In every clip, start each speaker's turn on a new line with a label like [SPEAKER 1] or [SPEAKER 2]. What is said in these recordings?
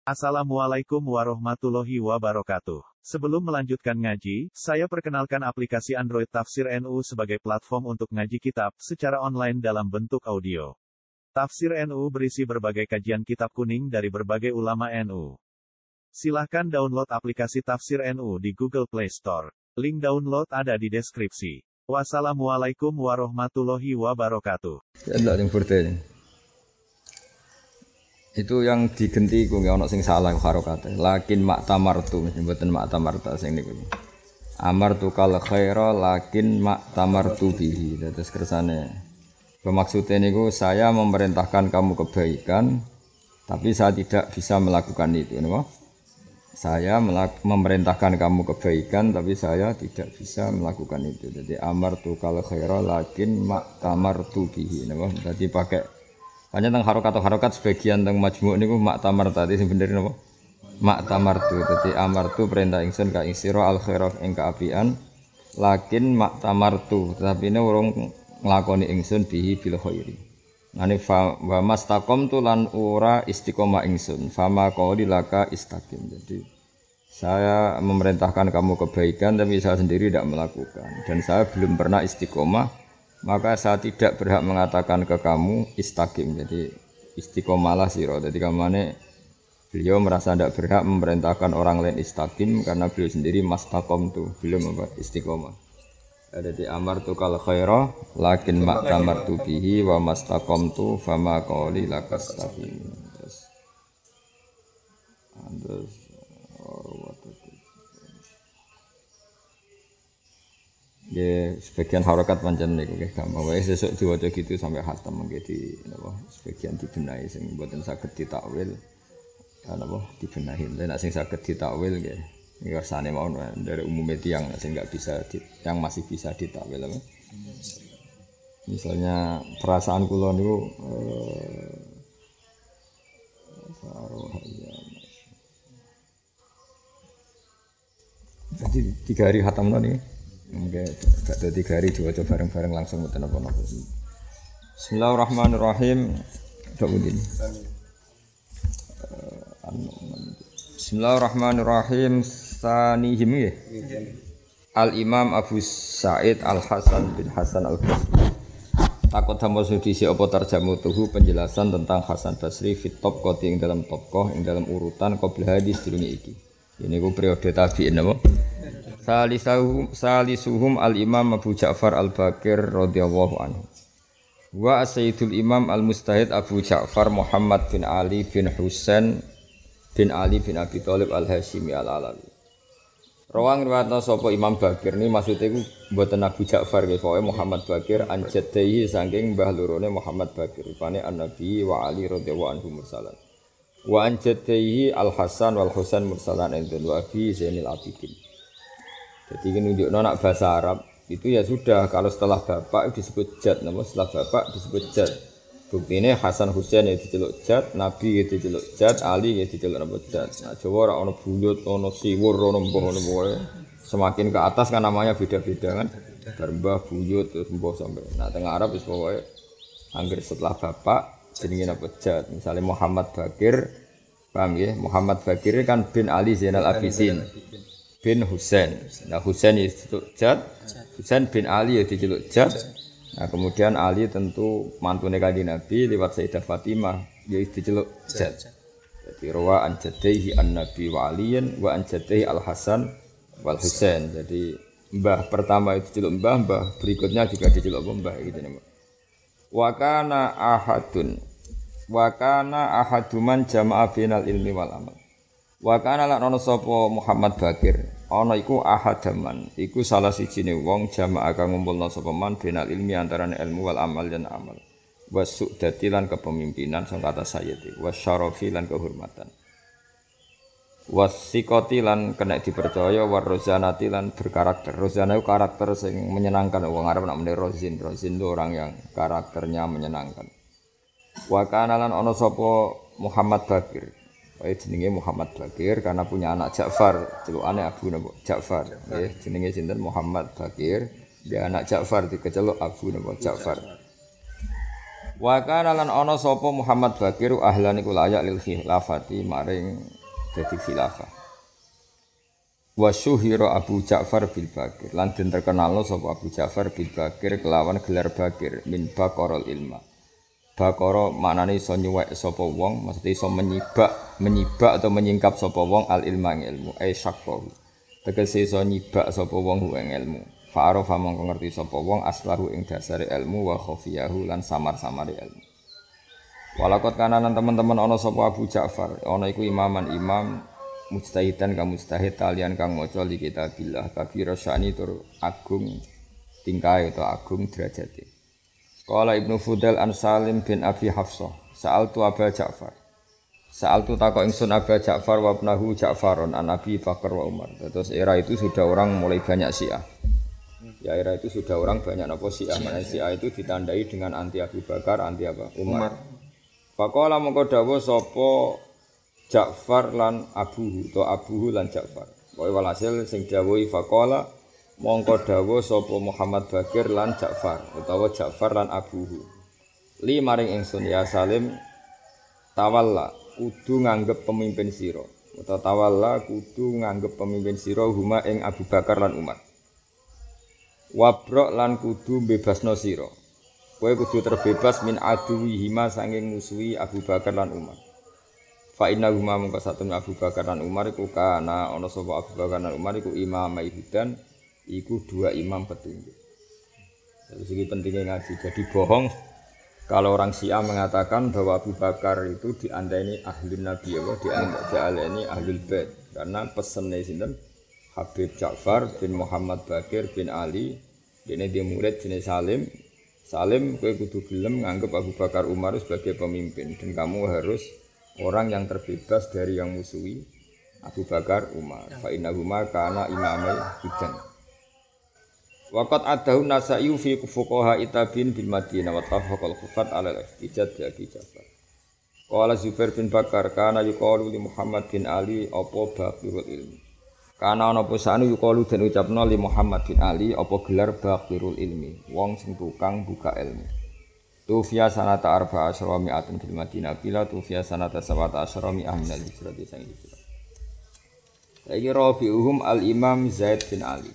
[SPEAKER 1] Assalamualaikum warahmatullahi wabarakatuh. Sebelum melanjutkan ngaji, saya perkenalkan aplikasi Android Tafsir NU sebagai platform untuk ngaji kitab secara online dalam bentuk audio. Tafsir NU berisi berbagai kajian kitab kuning dari berbagai ulama NU. Silahkan download aplikasi Tafsir NU di Google Play Store. Link download ada di deskripsi. Wassalamualaikum warahmatullahi wabarakatuh.
[SPEAKER 2] Itu yang digenti ku nggih ana sing salah harokate. Lakin maktamartu mboten maktamarta sing niku. Amartu kal khaira lakin maktamartu bihi. Terus kersane. Maksudnya niku saya memerintahkan kamu kebaikan tapi saya tidak bisa melakukan itu, napa? Saya memerintahkan kamu kebaikan tapi saya tidak bisa melakukan itu. Jadi amartu kal khaira lakin maktamartu bihi, napa? Dadi pakai hanya tentang harokat sebagian tentang majmuk niku maktamar tadi sing bener napa? Maktamartu. Dadi amartu perintah ingsun ka ing sira al khairah ing kaapian lakin maktamartu tetapi ini urung nglakoni ingsun bihi bil khairi. Ngene wa mastaqamtu lan ora istiqomah ingsun fama qauli laka istaqim. Jadi saya memerintahkan kamu kebaikan tapi saya sendiri tidak melakukan dan saya belum pernah istiqomah. Maka saya tidak berhak mengatakan ke kamu istaqim. Jadi istiqomalah sira. Jadi kamane beliau merasa tidak berhak memerintahkan orang lain istaqim karena beliau sendiri mastaqamtu, belum istiqomah. Jadi amartu kal khaira lakin maktamartu bihi wa mastaqamtu fama qawli lakastaqim. Terus ya sebagian harokat pancen niku nggih gampang wae sesuk diwaca gitu sampai khatam nggih di napa sebagian dibenahi sing mboten saged ditakwil napa dibenahi nek sing saged ditakwil nggih ngersane mawon dari umumnya tiyang sing enggak bisa yang masih bisa ditakwil apa misalnya perasaan kula niku jadi 3 hari khatam nih. Oke, gak ada 3 hari diwaca bareng-bareng langsung mboten apa-apa. Bismillahirrahmanirrahim. Bismillahirrahmanirrahim. Sanihim ya. Al-Imam Abu Sa'id Al-Hasan bin Hasan Al-Basri. Takut sama sudisi apa tarjamutuhu penjelasan tentang Hasan Basri fit tabqati ing dalam tabqah ing dalam urutan qabla hadis durunge iki. Ini ku periode tabi'in apa? Salisuhum al-Imam Abu Ja'far Al-Baqir radhiyallahu anhu. Wa Sayyidul Imam Al-Mustahid Abu Ja'far Muhammad bin Ali bin Husain bin Ali bin Abi Thalib Al-Hashimi Al-Alawi. Rawang riwayatna sapa Imam Baqir ni maksude iku mboten Abu Ja'far nggih pokoke Muhammad Baqir an jaddihi saking mbah lorone Muhammad Baqir rupane An-Nabi wa Ali radhiyallahu anhu mursalan. Wa an jaddihi Al-Hasan wal Husain mursalan indun wa bi Zainil Abidin. Jadi menunjukkan anak bahasa Arab itu ya sudah kalau setelah bapak disebut jad, nama setelah bapak disebut jad. Bukti ini Hasan Husain ya diceluk jad, Nabi ya diceluk jad, Ali ya diceluk nama jad. Nah Jawa orang buyut, orang siwur, orang boh, semakin ke atas kan namanya beda-beda kan. Garbah, buyut, terus boh sampai. Nah tengah Arab itu pokoknya angger setelah bapak jenenge nama jad. Misalnya Muhammad Baqir, paham ya? Muhammad Baqir kan bin Ali Zainal Abidin. Bin Husain. Nah Husain diceluk Jad, Husain bin Ali ya diceluk Jad. Nah kemudian Ali tentu mantune Kanjeng Nabi lewat Sayyidah Fatimah ya diceluk Jad. Jadi rawa an jaddihi an-Nabi wa Aliyin wa an jaddihi Al-Hasan wal Husain. Jadi mbah pertama itu diceluk mbah berikutnya juga diceluk mbah gitu nih. Wa kana ahaduman jama'a bainal ilmi wal amal. Wa kana lan ana sapa Muhammad Baqir ana iku ahadaman iku salah sijine wong jamaah kang ngumpulna sapa man benal ilmi antarané ilmu wal amal dan amal wasudati lan kepemimpinan sang kata sayyid wasyarafi lan kehormatan wasiqati lan kena dipercaya warozanati lan berkarakter rozana itu karakter sing menyenangkan wong Arab namane rozin itu orang yang karakternya menyenangkan wa kana lan ana sapa Muhammad Baqir jenenge Muhammad Baqir karena punya anak Ja'far, celukane Abu Ja'far. Nggih, jenenge sinten Muhammad Baqir, dia anak Ja'far dikeceluk Abu Ja'far. Wa kana lan ana sapa Muhammad Bakir ahlan iku layak lil khilafati maring dadi khilafah. Wa syuhira Abu Ja'far bil Bakir lan den terkenalno sapa Abu Ja'far bil Bakir kelawan gelar Bakir min baqarul ilma. Baqara maknane iso nyuwek sapa wong, maksudnya iso menyibak atau menyingkap sapa wong al ilma ing ilmu, ai syaqqa. Tegese iso nyibak sapa wong ing ilmu. Fa'arafa mongko ngerti sapa wong aslahu ing dasare ilmu wa khafiyahu lan samar-samare ilmu. Walakot kananan teman-teman ana sapa Abu Ja'far, ana iku imam mujtahidan kang mujtahid talian kang maca li kitabillah kabira sya'ni tur agung tingkae utawa agung derajate. Qala Ibnu Fudail an Salim bin Abi Hafsah, sa'altu Abu Ja'far. Sa'altu takok ingsun Abu Ja'far wa ibnahu Ja'farun an Abi Bakar wa Umar. Terus era itu sudah orang mulai banyak Syiah. Ya era itu sudah orang banyak napa Syiah. Mana Syiah itu ditandai dengan anti Abu Bakar, anti apa? Umar. Faqala mongko dawuh sapa Ja'far lan Abuhu to Abuhu lan Ja'far. Pokoke walhasil sing dawuhi faqala mongko dawuh sapa Muhammad Bakir lan Ja'far utawa Ja'far lan Abuhu. Li maring ingsun ya Salim tawalla kudu nganggep pemimpin sira. Utawa tawalla kudu nganggep pemimpin sira huma ing Abu Bakar lan Umar. Wabrok lan kudu bebasno sira. Kowe kudu terbebas min aduwihima sanging musuhi Abu Bakar lan Umar. Fa inna huma mungko satune Abu Bakar lan Umar iku kana ana sapa Abu Bakar lan Umar iku imamai hudan iku dua imam petunjuk. Jadi segi pentingnya ngaji. Jadi bohong kalau orang Syiah mengatakan bahwa Abu Bakar itu diandani ahlun Nabi apa diandani ahlul bait karena pesennya sinten Habib Ja'far bin Muhammad Bakir bin Ali, dene dia murid jenis Salim. Salim kowe kudu gelem nganggep Abu Bakar Umar sebagai pemimpin dan kamu harus orang yang terbebas dari yang musuhi Abu Bakar Umar. Fa innahuma kana imamai hudan. Waqat adahu Nasa'i fi fuqaha itabin bil Madinah wa tafaqal khufat ala al-ihtijaj bi Abi Ja'far. Qala Zubair bin Bakar kana yuqalu li Muhammad bin Ali apa baqirul ilmi. Kana ana posane yuqalu den ucapno li Muhammad bin Ali apa gelar baqirul ilmi, wong sing tukang buka ilmu. Tufiya sanata arba'a asyra mi'atun fil Madinah bila tufiya sanata sabata asyra mi'ah min al-hijrah sang hijrah. Saiki rabi'uhum al-Imam Zaid bin Ali.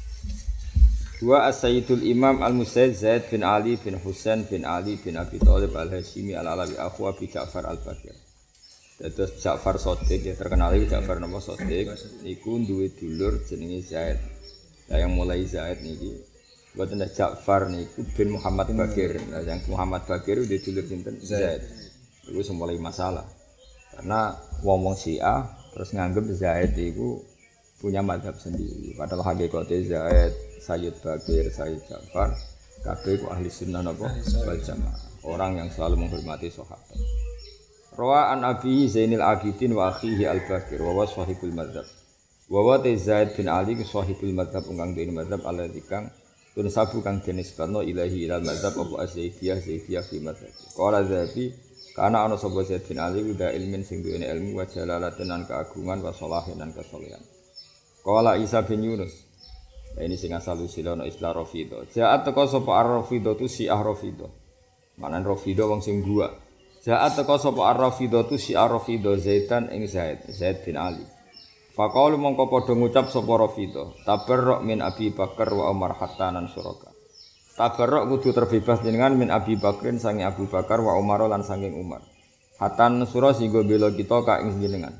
[SPEAKER 2] Wa as-Sayyidul Imam al-Musayyid Zaid bin Ali bin Husain bin Ali bin Abi Thalib al-Hashimi al-Alawi akhu Abi Ja'far al-Bakir. Terus Ja'far Shadiq ya terkenal iki Ja'far nama Shadiq niku duwe dulur jenenge Zaid. Lah yang mulai Zaid niki mboten Ja'far niku bin Muhammad Bakir. Nah yang Muhammad Bakir udah dulur sinten Zaid. Iku mulai masalah. Karena wong-wong Syiah terus nganggep Zaid iku punya mazhab sendiri. Padahal hakikate Zaid, Sayyid Bakir, Sayyid Ja'far kabeh ku ahli sunnah napa wal jamaah. Orang yang selalu menghormati sahabat. Rawa an Abi Zainil Abidin wa akhihi Al-Bakir wa sahibul madzhab. Wa Zaid bin Ali ku sahibul madzhab kang dene madzhab alladzi kang tun sabu kang dinisbatno ilahi ilal madzhab apa Zaidiyah fi madzhab. Qala Zabi kana ana sapa Zaid bin Ali uda ilmin sing duwe ilmu wa jalalatin lan keagungan wa sholahin lan kesolehan. Qala Isa bin Yunus. Nah, ini sing asal usulane istilah Rafidhah. Ja'at teko sapa Ar-Rafidhah tu Syiah Rafidhah. Manan Rafidhah wong sing buak. Ja'at teko sapa Ar-Rafidhah tu Syiah Rafidhah Zaidan ing Zaid bin Ali. Faqalu mongko padha ngucap sapa Rafidhah, tabarruk min Abi Bakar wa Umar hatta nan suraka. Tabarruk kudu terbebas jenengan min Abi Bakrin sange Abu Bakar wa Umar lan sanging Umar. Hatta nusura singgo bela kita ka ing jenengan.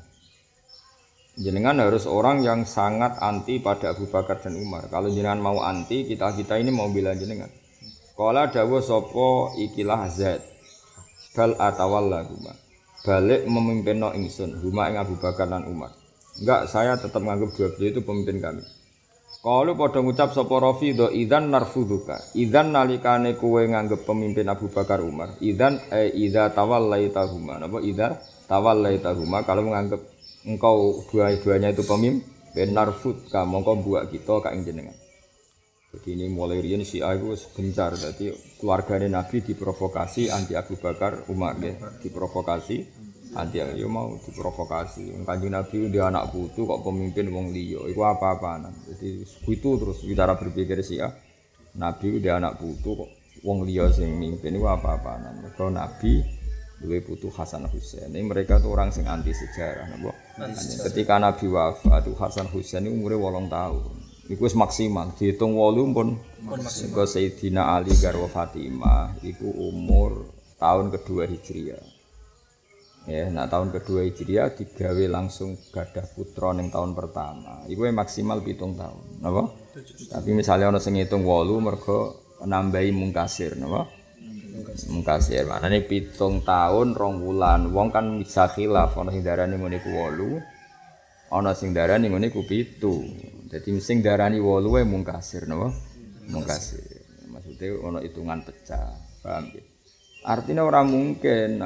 [SPEAKER 2] Jenengan harus orang yang sangat anti pada Abu Bakar dan Umar. Kalau jenengan mau anti, kita ini mau bela jenengan. Qala dawuh sapa ikilah Zaid. Bal atawalla huma. Balik memimpinno ingsun huma ing Abu Bakar dan Umar. Enggak, saya tetap menganggap dua beliau itu pemimpin kami. Kalau pada ngucap sapa Rafidhah idzan narfudzuka. Idzan nalikane kowe nganggep pemimpin Abu Bakar Umar. Idzan idza tawallaitahuma. Napa idza tawallaitahuma kalau menganggap engkau dua-duanya itu pemimpin narfudzuka mongko buak kita ka ing jenengan. Jadi ini mulai riyen Syiah itu gencar. Jadi keluargane Nabi diprovokasi anti Abu Bakar Umar ya. Diprovokasi anti ya mau diprovokasi. Kanjeng Nabi dia anak putu kok pemimpin wong liya. Iku apa-apaan. Jadi itu terus cara berpikir Syiah. Nabi dia anak putu kok wong liya sing mimpin iku apa-apaan. Mergo Nabi duwe putu Hasan Husain. Ini mereka tuh orang sing anti sejarah napa. Ketika Nabi wafat Hasan Husain iku umure 8 tahun. Iku wis maksimal dihitung 8 pun maksimal. Sayyidina Ali garwa Fatimah iku umur tahun kedua Hijriah. Ya, nah tahun kedua Hijriah digawe langsung gadah putra ning tahun pertama. Iku maksimal 7 tahun, napa? Tapi misalnya ana sing ngitung 8 mergo nambahi mungkasir, napa? Mungkasir. Maknane 7 tahun 2 wulan. Wong kan bisa khilaf ana sing darani ngene iku 8, ana sing darani ngene iku 7. Dadi sing darani 8 wae mungkasir, napa? Mungkasir. Maksudnya ana hitungan pecah, paham ya? Artinya orang mungkin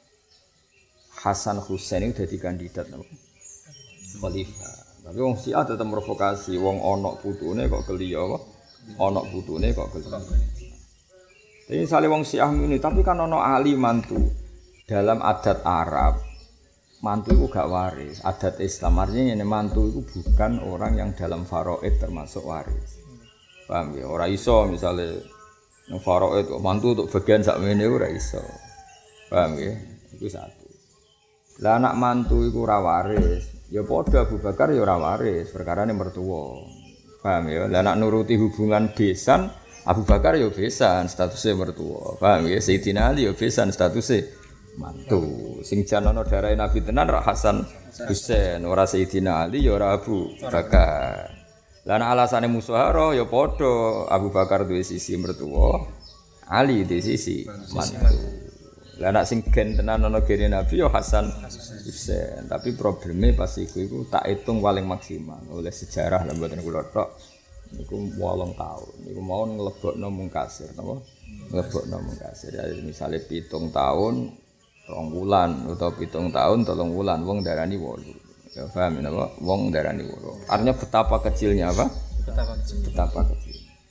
[SPEAKER 2] Hasan Husain itu jadi kandidat khalifah. Tapi wong Syiah tetep provokasi, wong ana putune kok keliya apa? Ana putune kok keliya. Tapi misale wong Syiah ngene, tapi kan ana Ali mantu. Dalam adat Arab, mantu itu gak waris. Adat Islam artinya ini mantu itu bukan orang yang dalam faraid termasuk waris. Paham ya? Ora iso misale nang faraid kok mantu untuk bagian sakmene ora iso. Paham ya? Iku satu. Lah anak mantu iku ora waris, ya padha Abu Bakar ya ora waris, perkarane mertua. Paham ya? Lah anak nuruti hubungan besan, Abu Bakar ya besan, statusnya mertua. Paham ya? Sayyidina Ali ya besan, statusnya mantu. Sing jan ana darahe Nabi tenan ra Hasan Husain, ora Sayyidina Ali ya ora Abu Bakar. Lah anak alasane musyahara ya padha, Abu Bakar duwe sisi mertua, Ali duwe sisi mantu. Lah anak sing gen tenan ana gene Nabi ya Hasan Husain, tapi problemnya pas iku tak hitung paling maksimal oleh sejarah lan mboten kula tok niku 8 tahun. Niku mau nglebokno mungkasir napa? Nglebokno mungkasir. Ya misale 7 tahun 2 wulan utawa 7 tahun 3 wulan wong darani 8. Ya paham napa? Wong darani 8. Artinya betapa kecilnya apa? Betapa kecil.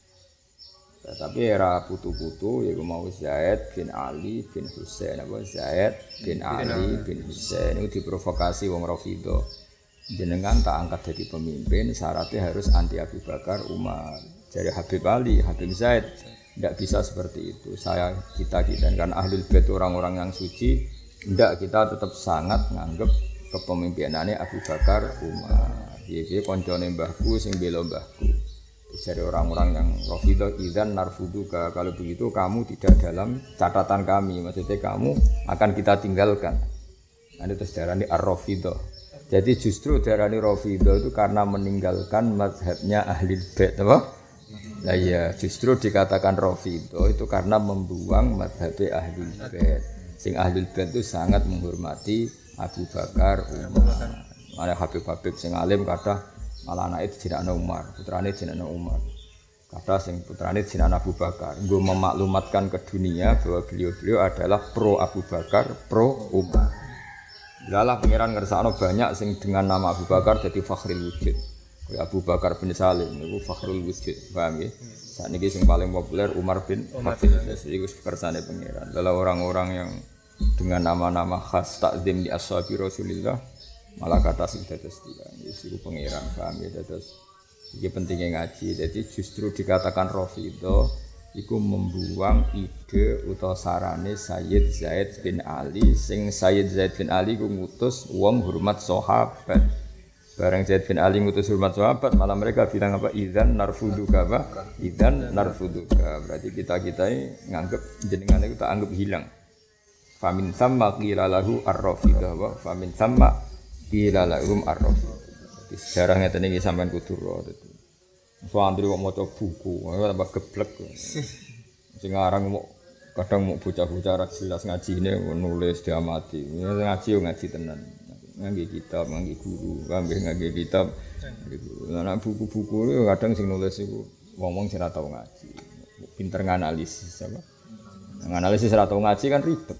[SPEAKER 2] Tapi era putu-putu yaitu mau Zaid bin Ali bin Husain apa Zaid bin Ali bin Husain itu diprovokasi wong Rafidhah. Jenengan tak angkat jadi pemimpin syaratnya harus anti Abu Bakar Umar. Jadi Habib Ali, Habib Zaid tidak bisa seperti itu. Kita kan ahlul bait orang-orang yang suci, tidak kita tetap sangat nganggep kepemimpinannya Abu Bakar Umar. Iki koncone mbahku sing bela mbahku. Dari orang-orang yang Rafidhah idzan narfuduka, kalau begitu kamu tidak dalam catatan kami, maksudnya kamu akan kita tinggalkan. Ini terus darani ar-Rafidhah. Jadi justru darani Rafidhah itu karena meninggalkan mazhabnya Ahlul Bait, apa? Nah ya, justru dikatakan Rafidhah itu karena membuang mazhab Ahlul Bait. Sing Ahlul Bait itu sangat menghormati Abu Bakar Umar. Ada Habib-habib sing alim kata malah anake jenenge Umar, putrane jenenge Umar. Kata sing putrane jenenge Abu Bakar. Nggo memaklumatkan ke dunia bahwa beliau-beliau adalah pro Abu Bakar, pro Umar. Dalah pangeran ngersakno banyak sing dengan nama Abu Bakar jadi fakhrul wujud. Kayak Abu Bakar bin Salim niku fakhrul wujud, paham nggih? Sakniki sing paling populer Umar bin Hafiz. Iku kersane pangeran. Dalah orang-orang yang dengan nama-nama khas takzim di ashabi Rasulillah malah kata sing dados tiyang iku pangeran, paham ya, dados iki pentingnya ngaji. Jadi justru dikatakan Rafidhah iku membuang ide utawa sarane Sayyid Zaid bin Ali, sing Sayyid Zaid bin Ali ku ngutus wong hormat sahabat. Bareng Zaid bin Ali ngutus hormat sahabat, malah mereka bilang apa? Idzan narfuduka, apa? Idzan narfuduka. Berarti kita-kita nganggep jenengan itu tak anggap hilang. Famin thamma qila lahu ar-Rafidhah, wa famin thamma qila lahum ar-Rafidhah. Sejarah ngeten iki sampean kudu ro. Santri kok maca buku, tambah geblek. Sing aran kadang mau bocah-bocah ra jelas ngajine nulis diamati. Ngaji yo ngaji tenan. Ngangge kitab, ngangge guru, ngangge kitab. Lah buku-buku yo kadang sing nulis iku wong-wong sing ora tau ngaji. Pinter nganalisis apa? Nganalisis ora tau ngaji kan ribet.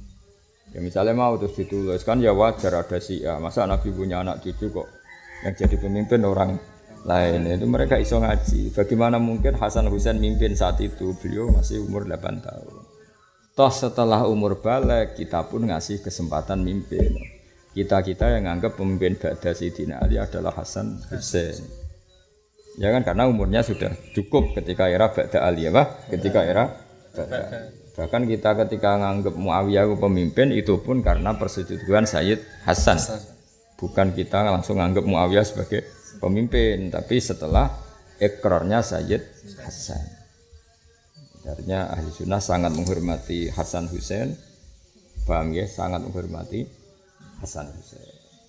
[SPEAKER 2] Ya misalnya mau terus ditulis kan ya wajar ada Syiah. Masa Nabi punya anak cucu kok yang jadi pemimpin orang lain, itu mereka iso ngaji. Bagaimana mungkin Hasan Husain mimpin saat itu, beliau masih umur 8 tahun. Toh setelah umur balik kita pun ngasih kesempatan mimpin. Kita-kita yang anggap pemimpin ba'da Sayyidina Ali adalah Hasan Husain. Ya kan karena umurnya sudah cukup ketika era ba'da Ali, apa? Ketika era Bahkan kita ketika nganggep Muawiyah pemimpin itu pun karena persetujuan Sayyid Hasan. Bukan kita langsung nganggep Muawiyah sebagai pemimpin, tapi setelah ikrarnya Sayyid Hasan. Artinya ahli sunnah sangat menghormati Hasan Husain. Paham ya? Sangat menghormati Hasan Husain.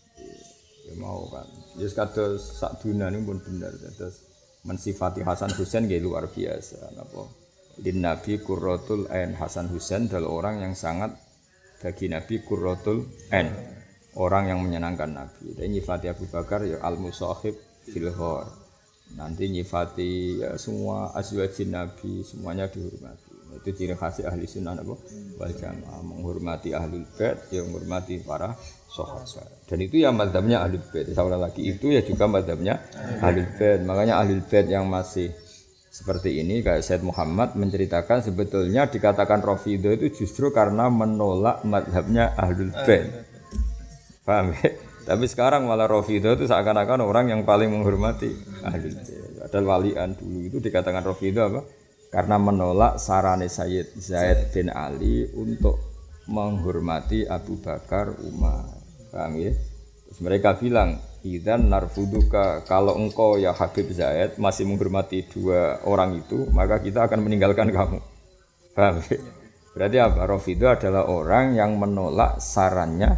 [SPEAKER 2] Ya mau kan. Ya kados sak dunia ini pun benar. Terus mensifati Hasan Husain nggih luar biasa. Napa? Din Nabi Qurratul Ain. Hasan Husain adalah orang yang sangat bagi Nabi Qurratul Ain, orang yang menyenangkan Nabi. Dan nyifati Abu Bakar ya al-musahib fil ghar. Nanti nyifati ya semua azwajin Nabi semuanya dihormati. Itu ciri khas ahli sunnah apa? Wal jamaah, menghormati ahlul bait, ya menghormati para sahabat. Dan itu ya mazhabnya ahlul bait. Sekali lagi itu ya juga mazhabnya ahlul bait. Makanya ahlul bait yang masih seperti ini kayak Said Muhammad menceritakan sebetulnya dikatakan Rafidhah itu justru karena menolak mazhabnya Ahlul Bait. Paham ya? Tapi sekarang malah Rafidhah itu seakan-akan orang yang paling menghormati Ahlul Bait. Padahal walian dulu itu dikatakan Rafidhah apa? Karena menolak sarane Sayyid Zaid bin Ali untuk menghormati Abu Bakar, Umar. Paham ya? Terus mereka bilang, "Idzan narfuduka, kalau engkau ya Habib Zaid masih menghormati dua orang itu, maka kita akan meninggalkan kamu." Paham ya? Berarti apa? Rafidhah adalah orang yang menolak sarannya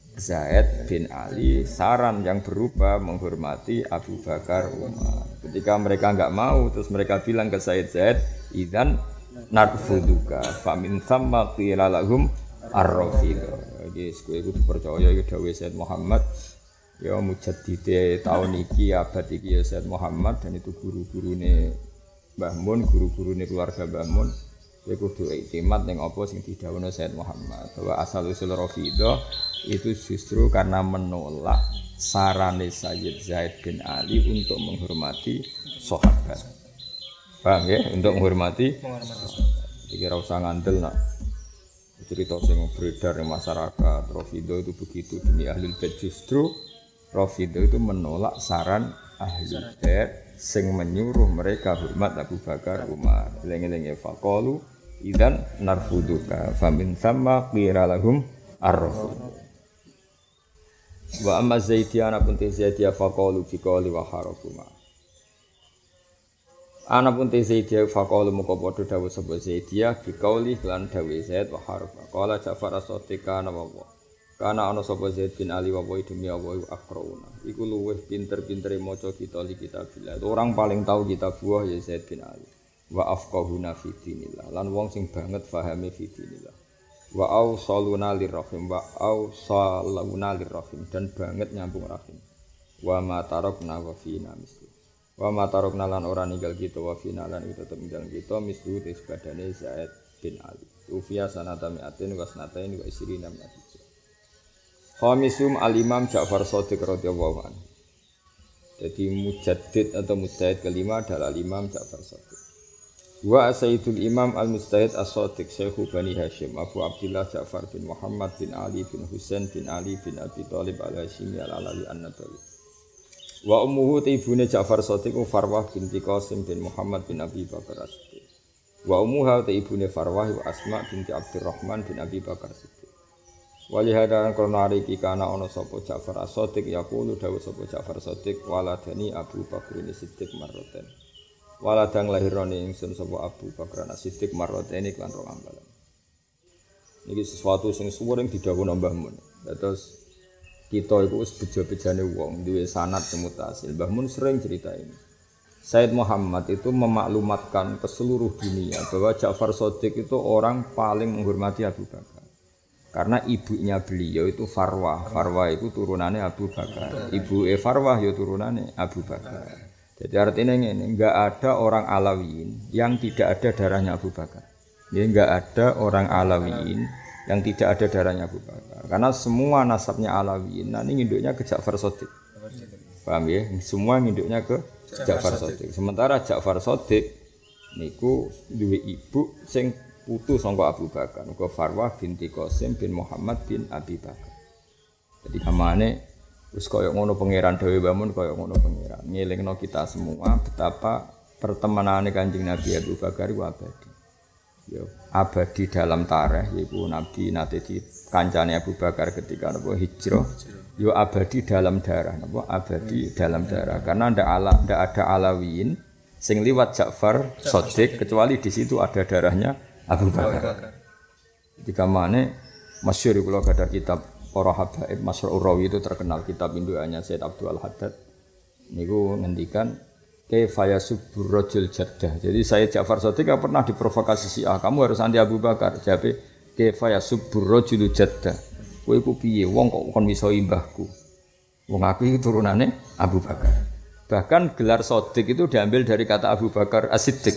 [SPEAKER 2] Zaid bin Ali, saran yang berupa menghormati Abu Bakar, Umar. Ketika mereka enggak mau, terus mereka bilang ke Sayyid Zaid, "Idzan narfuduka, famin thamma qila lahum ar-Rafidhah." Guys, kowe kudu percaya iki dawuh Sayyid Muhammad. Ya mujaddid tahun iki abad iki ya Sayyid Muhammad, dan itu guru-gurune Mbah Mun, guru-gurune keluarga Mbah Mun. Kowe kudu iktimat ning apa sing didhawuhna Sayyid Muhammad, bahwa asal usul Rafidhah itu justru karena menolak sarane Sayyid Zaid bin Ali untuk menghormati sahabat. Paham ya? Untuk menghormati sahabat. Iki ora usah ngandel nak cerita sing beredar di masyarakat. Rafidhah itu begitu demi ahlul bait. Justru Rafidhah itu menolak saran ahlul bait sing menyuruh mereka hormat Abu Bakar, Umar. Eling-eling faqalu idzan narfuduka famin thamma qira lahum ar-Rafidhah. Wa amma Zaidiyah pun Zaidiyah faqalu fi qawli wa harafuma. Ana pun Zaidiyah faqalu muka padha dawuh sapa Zaidiyah bi qawli lan dawuh Zaid wa haraf. Qala Ja'far as-Sadiq ana wa kana ana sapa Zaid bin Ali wa demi Allah akrauna. Iku luweh pinter-pintere maca kitabillah. Orang paling tahu kitab buah ya Zaid bin Ali. Wa afqahuna fi dinillah. Lan wong sing banget pahame fi dinillah. Wa ausaluna lirrahim wa ausaluna lirrahim, dan banget nyambung rahim. Wa ma tarakna wa fina mislu. Wa ma tarakna lan ora ninggal kita wa fina lan kita tetep ninggal kita mislu tis badane Zaid bin Ali. Ufiya sanata mi'atin wa sanatain wa isrina mi'atin. Khamisum al-Imam Ja'far Shadiq radhiyallahu anhu. Jadi mujaddid atau mujtahid kelima adalah Imam Ja'far Shadiq. Wa Sayyidul Imam Al-Mujtahid As-Shadiq Syekhu Bani Hashim Abu Abdullah Ja'far bin Muhammad bin Ali bin Husain bin Ali bin Abi Thalib al-Hashimi al-Alawi an-Nabawi. Wa ummuhu ibune Ja'far Shadiq Farwah binti Qasim bin Muhammad bin Abi Bakar As-Siddiq. Wa ummuha ibune Farwah wa Asma binti Abdurrahman bin Abi Bakar As-Siddiq. Wali hadaran krono iki kana ana sapa Ja'far As-Shadiq yaqulu dawuh sapa Ja'far Shadiq waladani Abu Bakar As-Siddiq marroten. Waladang lahirane ingsun sapa Abu Bakar As-Siddiq marroten iklan rong ambalan. Niki sesuatu sing suwering didhawuhna Mbah Mun. Terus kita iku wis bejo-bejane wong duwe sanad mutasil. Mbah Mun sering cerita ini. Said Muhammad itu memaklumatkan ke seluruh dunia bahwa Ja'far Shadiq itu orang paling menghormati Abu Bakar. Karena ibunya beliau itu Farwah. Farwah itu turunannya Abu Bakar. Ibu Farwah ya turunannya Abu Bakar. Jadi artinya ini enggak ada orang Alawiyin yang tidak ada darahnya Abu Bakar. Ini enggak ada orang Alawiyin yang tidak ada darahnya Abu Bakar. Karena semua nasabnya Alawiyin, nah ini nginduknya ke Ja'far Shadiq. Paham ya? Semua nginduknya ke Ja'far Shadiq. Sementara Ja'far Shadiq niku duwe ibu sing putu sangka Abu Bakar, uga Farwah binti Qasim bin Muhammad bin Abi Bakar. Jadi namane wis kaya ngono pangeran dhewe bangun kaya ngono pangeran. Ngelingno kita semua betapa pertemanane Kanjeng Nabi Abu Bakar iku abadi. ya abadi dalam tarikh yaiku Nabi nate di kancane Abu Bakar ketika napa hijrah ya abadi dalam darah napa abadi dalam darah karena ndak ada Alawiyin sing liwat Ja'far Shadiq kecuali di situ ada darahnya Abu Bakar. Ketika mana masyhur kula ada kitab Para Habaib Masrur Rawi itu terkenal kitab indukannya Said Abdul Haddad niku ngendikan kaifa yasubbur rajul jaddah. Jadi saya Ja'far Shadiq pernah diprovokasi Syiah, kamu harus anti Abu Bakar. Jabe kaifa yasubbur rajul jaddah. Kowe iku piye wong kok kon miso mbahku. Wong aku iki turunane Abu Bakar. Bahkan gelar Shadiq itu diambil dari kata Abu Bakar As-Siddiq.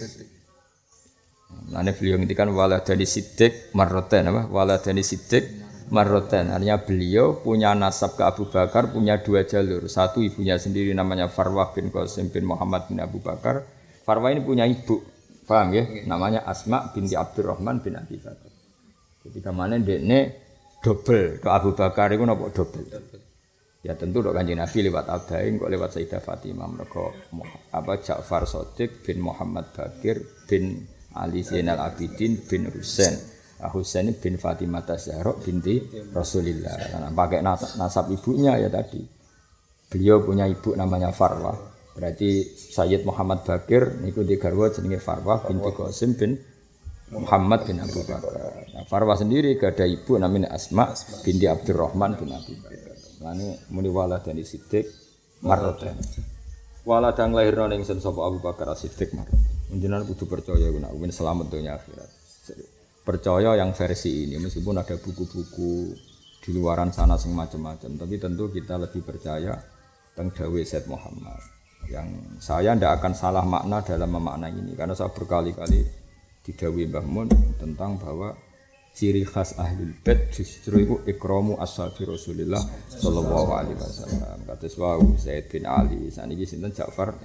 [SPEAKER 2] Nah, beliau ngendikan waladani Siddiq marroten apa? Waladani Siddiq marroten. Artinya beliau punya nasab ke Abu Bakar, punya dua jalur. Satu ibunya sendiri namanya Farwah bin Qasim bin Muhammad bin Abu Bakar. Farwah ini punya ibu, paham ya? Namanya Asma binti Abdurrahman bin Abi Bakar. Ketika mana dekne double ke Abu Bakar itu napa double. Ya tentu dok Kanjeng Nabi lewat Abain kok lewat Sayyidah Fatimah mereka apa Ja'far Shadiq bin Muhammad Bakir bin Ali Zainal Abidin bin Husain. Husain bin Fatimah Zahra binti Rasulillah. Nah, pakai nasab ibunya ya tadi. Beliau punya ibu namanya Farwah. Berarti Sayyid Muhammad Bakir niku di garwa jenenge Farwah binti Qasim bin Muhammad bin Abu Bakar. Nah, Farwah sendiri gak ada ibu namanya Asma binti Abdurrahman bin Abi Bakar. Lane muni waladani Siddiq marroten. Waladang lahirna ning sapa Abu Bakar As-Siddiq marroten. Jenengan kudu percaya nek ben selamat dunia akhirat. Percaya yang versi ini meskipun ada buku-buku di luaran sana sing macam-macam, tapi tentu kita lebih percaya tentang dawuh Said Muhammad. Yang saya tidak akan salah makna dalam memaknai ini karena saya berkali-kali didhawuhi Mbah Mun tentang bahwa ciri khas ahlul bait justru itu ikramu ashabi Rasulillah sallallahu alaihi wasallam. Kados wau Zaid bin Ali, saniki sinten Ja'far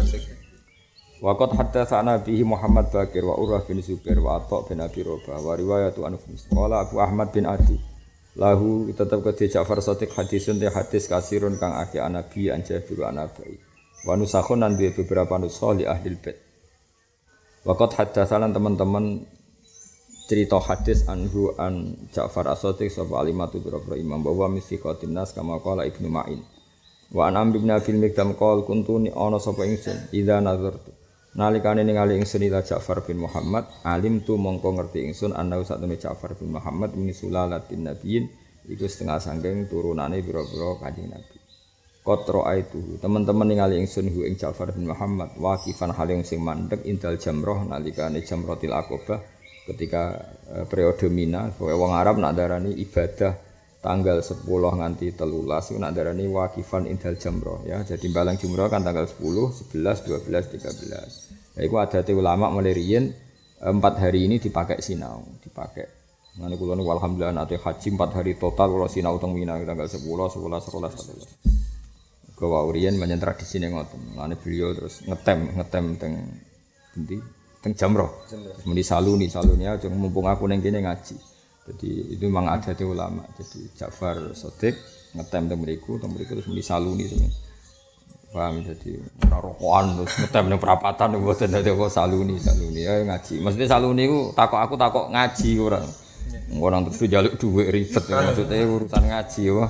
[SPEAKER 2] Waqat haddatsana bihi Muhammad Bakir wa Urwah bin Zubair wa Atha bin Abi Rabah wa riwayatu an Qala Abu Ahmad bin Adi lahu tetap ke Ja'far Shadiq hadisun te hadis kasirun kang akeh Nabi anja biru anabai wa nusakhun nan beberapa nusakh li ahli bait. Waqat haddatsana teman-teman cerita hadis anhu an Ja'far As-Shadiq sapa alimatu biro imam bahwa misiqatin nas kama qala Ibnu Ma'in wa an Amr bin Abil Mikdam qol kuntuni ana sapa ingsun idza nazartu nalikane ningali ingsun ila Ja'far bin Muhammad alim tu mongko ngerti ingsun ana satune Ja'far bin Muhammad min sulalatin nabiyyin iku setengah sangking turunane pira-pira Kanjeng Nabi. Qatra aitu teman-teman ningali ingsun hu ing Ja'far bin Muhammad waqifan hal yang sing mandeg indal jamrah nalikane jamratil aqabah ketika periode Mina wong Arab nak darani ibadah tanggal 10 nganti 13 itu nak darani waqifan indal jamrah ya. Jadi balang jumrah kan tanggal 10, 11, 12, 13. Ya iku adate ulama mulai riyen 4 hari ini dipakai sinau, dipakai. Ngene kula niku alhamdulillah nate haji 4 hari total kula sinau teng Mina tanggal 10, 11, 12, 13. Kula riyen menyen tradisine ngoten. Ngene beliau terus ngetem teng endi? Teng jamrah. Muni saluni aja mumpung aku ning kene ngaji. Jadi itu memang ada di ulama. Jadi Ja'far Shadiq ngetem teng mriku terus muni saluni semen. Paham jadi ora rokokan terus ngetem ning perapatan mboten dadi kok saluni ayo ngaji. Maksudnya saluni ku takok ngaji ora. Ora tentu njaluk dhuwit ribet maksudnya urusan ngaji wah.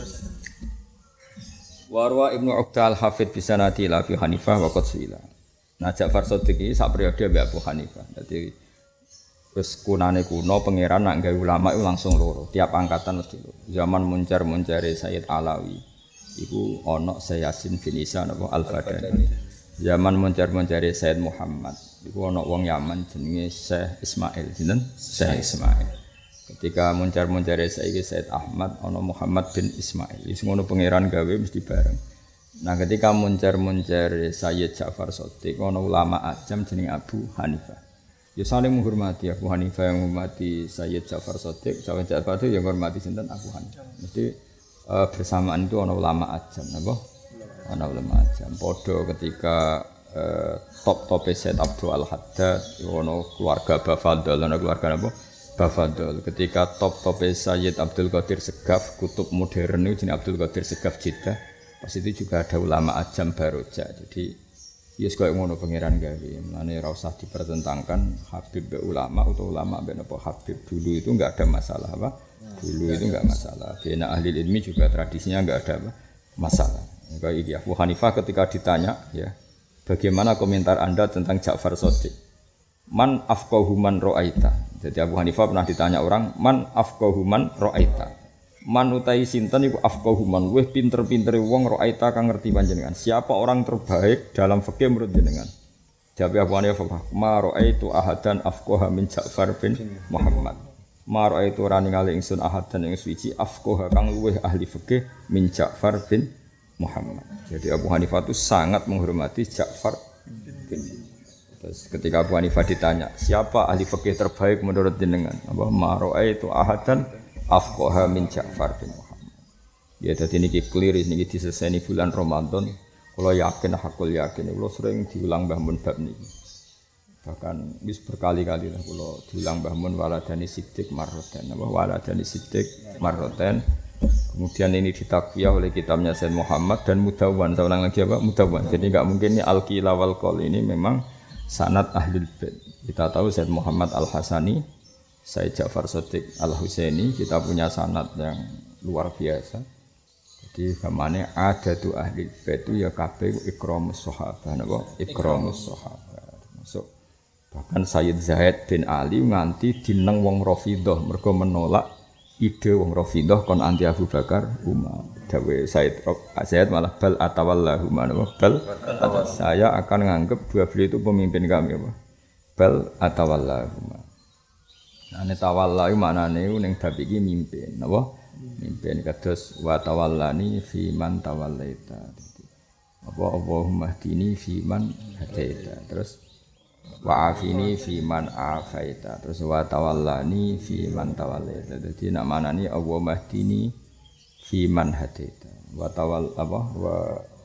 [SPEAKER 2] Warwa Ibnu Uqdal Hafid bisanati la fi Hanifah wa Qatsila. Nah Ja'far Shadiq iki sak periode mbek Abu Hanifah. Dadi wis kunane kuno pangeran nak gawe ulama itu langsung loro. Tiap angkatan mesti loro. Zaman muncar-muncare Sayyid Alawi iku ana Sayyasin bin Isa napa Al-Badani. Zaman muncar-muncare Sayyid Muhammad iku ana wong Yaman jenenge Syekh Ismail, sinten? Syekh Ismail. Ketika muncar-muncare saiki Sayyid Ahmad ana Muhammad bin Ismail. Wis ngono pangeran gawe mesti bareng. Nah ketika muncar-muncare Sayyid Ja'far Shadiq ana ulama ajam jenenge Abu Hanifah. Ya saling menghormati Abu Hanifah yang menghormati Sayyid Ja'far Shadiq, Sayyid Ja'far itu yang menghormati sinten Abu Hanifah. Mesti bersamaan itu ana ulama ajam, napa? Ana ulama ajam. Padha ketika top-tope Sayyid Abdul Haddad, ana keluarga Bafadl, ana keluarga napa? Bafadl. Ketika top-tope Sayyid Abdul Qadir Segaf, kutub modern itu jenenge Abdul Qadir Segaf Jeddah. Pas itu juga ada ulama ajam Baroja. Jadi Yes koyo ngono pangeran gawe. Mulane ora usah dipertentangkan Habib be ulama atau ulama be napa Habib. Dulu itu enggak ada masalah apa? Dulu itu enggak masalah. Bina ahli ilmi juga tradisinya enggak ada apa? Masalah. Kayak iki Abu Hanifah ketika ditanya ya, bagaimana komentar Anda tentang Ja'far Shadiq? Man afqahu man ra'aita. Jadi Abu Hanifah pernah ditanya orang, man afqahu man ra'aita. Man utai sinten iku afqahu man weh pinter-pintere wong ra'aita kang ngerti panjenengan. Siapa orang terbaik dalam fikih menurut jenengan? Jawab Abu Hanifah, ma ra'aitu ahadan afqaha min Ja'far bin Muhammad. Ma ra'aitu ora ningali ingsun ahadan ing suci afqaha kang luweh ahli fikih min Ja'far bin Muhammad. Jadi Abu Hanifah itu sangat menghormati Ja'far bin. Terus ketika Abu Hanifah ditanya, siapa ahli fikih terbaik menurut jenengan? Apa ma ra'aitu ahadan afqaha min Ja'far bin Muhammad. Ya dadi niki clear niki diseseni bulan Ramadan. Kula yakin hakul yakin kula sering diulang Mbah Mun bab niki. Bahkan wis berkali-kali lah kula diulang Mbah Mun waladani Siddiq marroten apa waladani Siddiq marroten. Kemudian ini ditakwiyah oleh kitabnya Sayyid Muhammad dan Mudawwan. Saya ulang lagi apa? Mudawwan. Jadi enggak mungkin ini al-qila wal qaul ini memang sanad ahlul bait. Kita tahu Sayyid Muhammad Al-Hasani, Sayyid Ja'far Shadiq Al-Husaini, kita punya sanad yang luar biasa. Jadi gamane adatu ahli bait itu ya kabeh ikramus sahabah napa? Ikramus sahabah. Masuk bahkan Sayyid Zaid bin Ali nganti dineng wong Rafidhah mergo menolak ide wong Rafidhah kon anti Abu Bakar Umar. Dawe Sayyid malah bal atawallahu napa? Bal saya akan menganggap dua beliau itu pemimpin kami apa? Bal atawallahu. Nah, tawalla iku maknane ning bab iki mimpin, napa? Mimpin kados wa tawallani fi man tawallaita. Apa Allahumma hdini fi man hadaita. Terus wa afini fi man afaita. Terus wa tawallani fi man tawallaita. Dadi nak maknane Allahumma hdini fi man hadaita. Wa tawall apa wa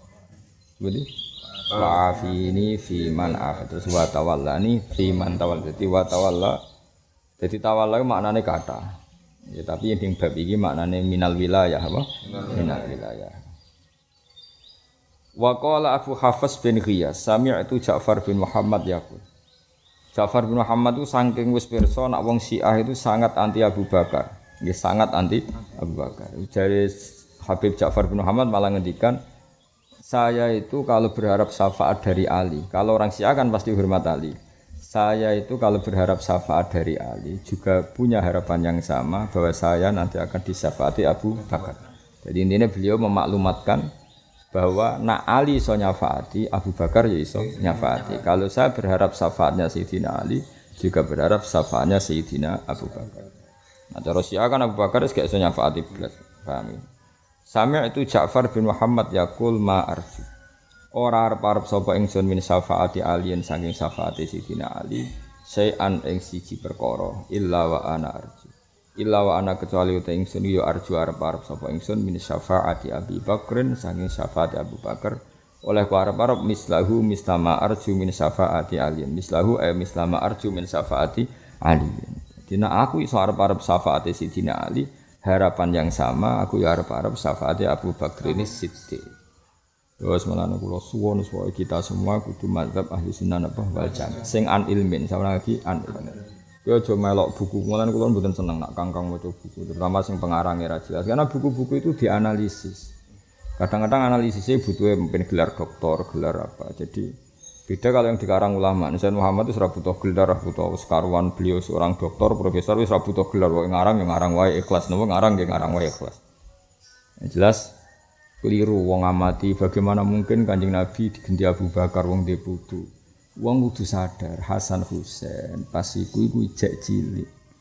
[SPEAKER 2] Budi wa afini fi man afaita. Terus wa tawallani fi man tawallaita. Dadi wa tawalla. Jadi tawalla maknane kata. Ya tapi yang bab iki maknane minal wilayah apa? Minal wilayah. Wa qala Abu Hafs bin Ghiyas, sami'tu Ja'far bin Muhammad yaqul. Ja'far bin Muhammad itu saking wis pirsa nak wong Syiah itu sangat anti Abu Bakar. Nggih sangat anti Abu Bakar. Jare Habib Ja'far bin Muhammad malah ngendikan, saya itu kalau berharap syafaat dari Ali, kalau orang Syiah kan pasti hormat Ali. Saya itu kalau berharap syafaat dari Ali juga punya harapan yang sama bahwa saya nanti akan disyafaati Abu Bakar. Jadi intinya beliau memaklumatkan bahwa nak Ali iso nyafaati, Abu Bakar ya iso nyafaati. Kalau saya berharap syafaatnya Sayyidina Ali, juga berharap syafaatnya Sayyidina Abu Bakar. Nah cara Syiah kan Abu Bakar gak iso nyafaati belas. Paham ya? Sami'tu Ja'far bin Muhammad yaqul ma arju. Ora arep-arep sapa ingsun min syafaati aliyen saking syafaati Sayyidina Ali sayan ing siji perkara illa wa ana arju illa wa ana kecuali uta ingsun yo arju arep-arep sapa ingsun min syafaati Abi Bakrin saking syafaati Abu Bakar oleh ku arep-arep mislahu mislama arju min syafaati aliyen mislahu mislama arju min syafaati aliyen. Dina aku iso arep-arep syafaati Sayyidina Ali harapan yang sama aku yo arep-arep syafaati Abu Bakrin Siddiq. Terus malah kula suwun supaya kita semua kudu mazhab ahli sunnah apa wal jamaah. Sing an ilmin, sama lagi an ilmin. Yo aja melok buku, malah kula mboten seneng nak kangkang maca buku, terutama sing pengarangnya ra jelas. Karena buku-buku itu dianalisis. Kadang-kadang analisisnya butuh mungkin gelar doktor, gelar apa. Jadi beda kalau yang dikarang ulama. Sayyid Muhammad itu ora butuh gelar, butuh sekaruan beliau seorang doktor, profesor wis ora butuh gelar, wae ngarang yang ngarang wae ikhlas, napa ngarang nggih ngarang wae ikhlas. Yang jelas keliru wong amati bagaimana mungkin Kanjeng Nabi digenti Abu Bakar wong dhe putu. Wong kudu sadar Hasan Husain pas iku ijek cilik.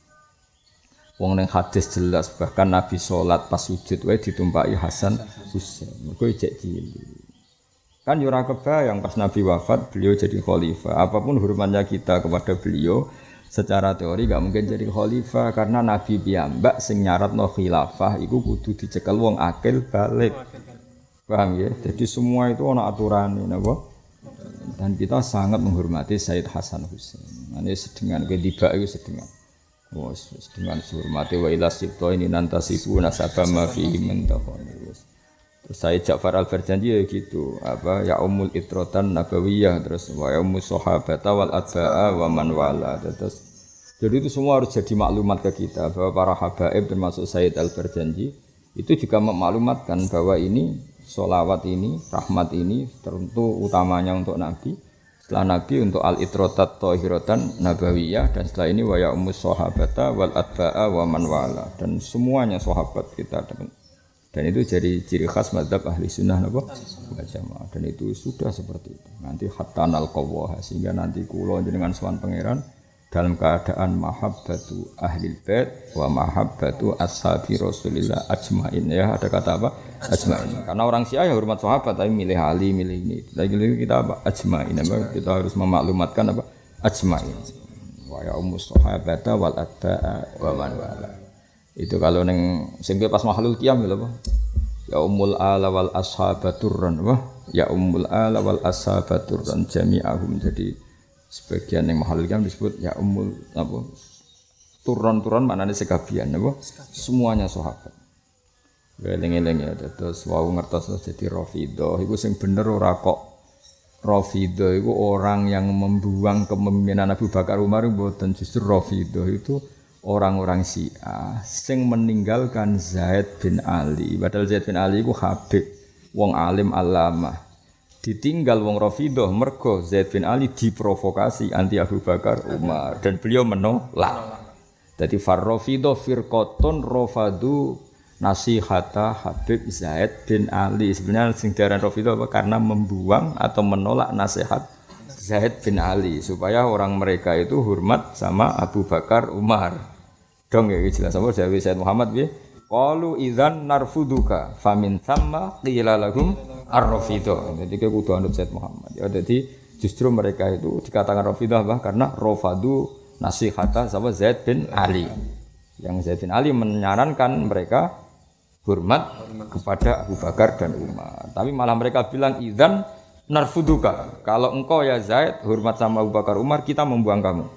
[SPEAKER 2] Wong ning hadis jelas bahkan Nabi salat pas sujud wae ditumpaki Hasan Husain. Mergo ijek cilik. Kan yo ora kebayang pas Nabi wafat beliau jadi khalifah. Apapun hormatnya kita kepada beliau secara teori enggak mungkin jadi khalifah karena Nabi piyambak sing nyaratno khilafah iku kudu dicekel wong akil balik. Paham ya? Jadi semua itu ana aturane napa? Dan kita sangat menghormati Sayyid Hasan Husain. Ane sedengan ke tiba itu sedengan. Oh, sedengan hormati wa ila sibto ini nantasibu nasaba ma fihi min taqani. Terus Sayyid Ja'far Al-Barjanji ya gitu, apa ya umul itrotan nabawiyah, terus wa ya umus sahabata wal atba'a wa man wala. Terus jadi itu semua harus jadi maklumat ke kita bahwa para habaib termasuk Sayyid Al-Barjanji itu juga memaklumatkan bahwa ini sholawat ini, rahmat ini tentu utamanya untuk Nabi. Setelah Nabi untuk al-itrotat tohiratan nabawiyah, dan setelah ini wa ya umus sahabata wal atba'a wa man wala, dan semuanya sahabat kita. Dan itu jadi ciri khas madzhab ahli sunnah wal jamaah, dan itu sudah seperti itu. Nanti hatta nalqawaha, sehingga nanti kula jenengan sowan pangeran dalam keadaan mahabbatu ahlil bait wa mahabbatu ashabi Rasulillah ajmain. Ya, ada kata apa? Ajmain. Karena orang Syiah ya hormat sahabat tapi milih Ali, milih ini. Lagi kita apa? Ajmain. Kita harus memaklumatkan apa? Ajmain. Wa ya ummus sahabata wal atba'a wa man wala. Itu kalau neng sing pas mahlul qiyam lho apa? Ya ummul ala wal ashabaturran wah ya ummul ala wal ashabaturran jami'ahum. Jadi sebagian yang mahlul qiyam disebut ya ummul apa? Turun-turun maknane sekabian apa? Semuanya sahabat. Eling-eling ya terus wau ngertos jadi Rafidhah iku sing bener ora kok Rafidhah iku orang yang membuang kepemimpinan Abu Bakar Umar mboten, justru Rafidhah itu orang-orang Syiah sing meninggalkan Zaid bin Ali. Padahal Zaid bin Ali iku habib, wong alim alamah. Ditinggal wong Rafidhah mergo Zaid bin Ali diprovokasi anti Abu Bakar Umar dan beliau menolak. Jadi Rafidhah firqatun rafadu nasihata Habib Zaid bin Ali. Sebenarnya sing diaran Rafidhah apa? Karena membuang atau menolak nasihat Zaid bin Ali supaya orang mereka itu hormat sama Abu Bakar Umar. Dong ya jelas apa Jawi Said Muhammad piye? Qalu idzan narfuduka famin thamma qila lahum ar-rafidhah. Jadi ke kudu anut Said Muhammad. Ya jadi justru mereka itu dikatakan Rafidhah bah karena rafadu nasihata sama Zaid bin Ali. Yang Zaid bin Ali menyarankan mereka hormat kepada Abu Bakar dan Umar. Tapi malah mereka bilang idzan narfuduka. Kalau engkau ya Zaid hormat sama Abu Bakar Umar, kita membuang kamu.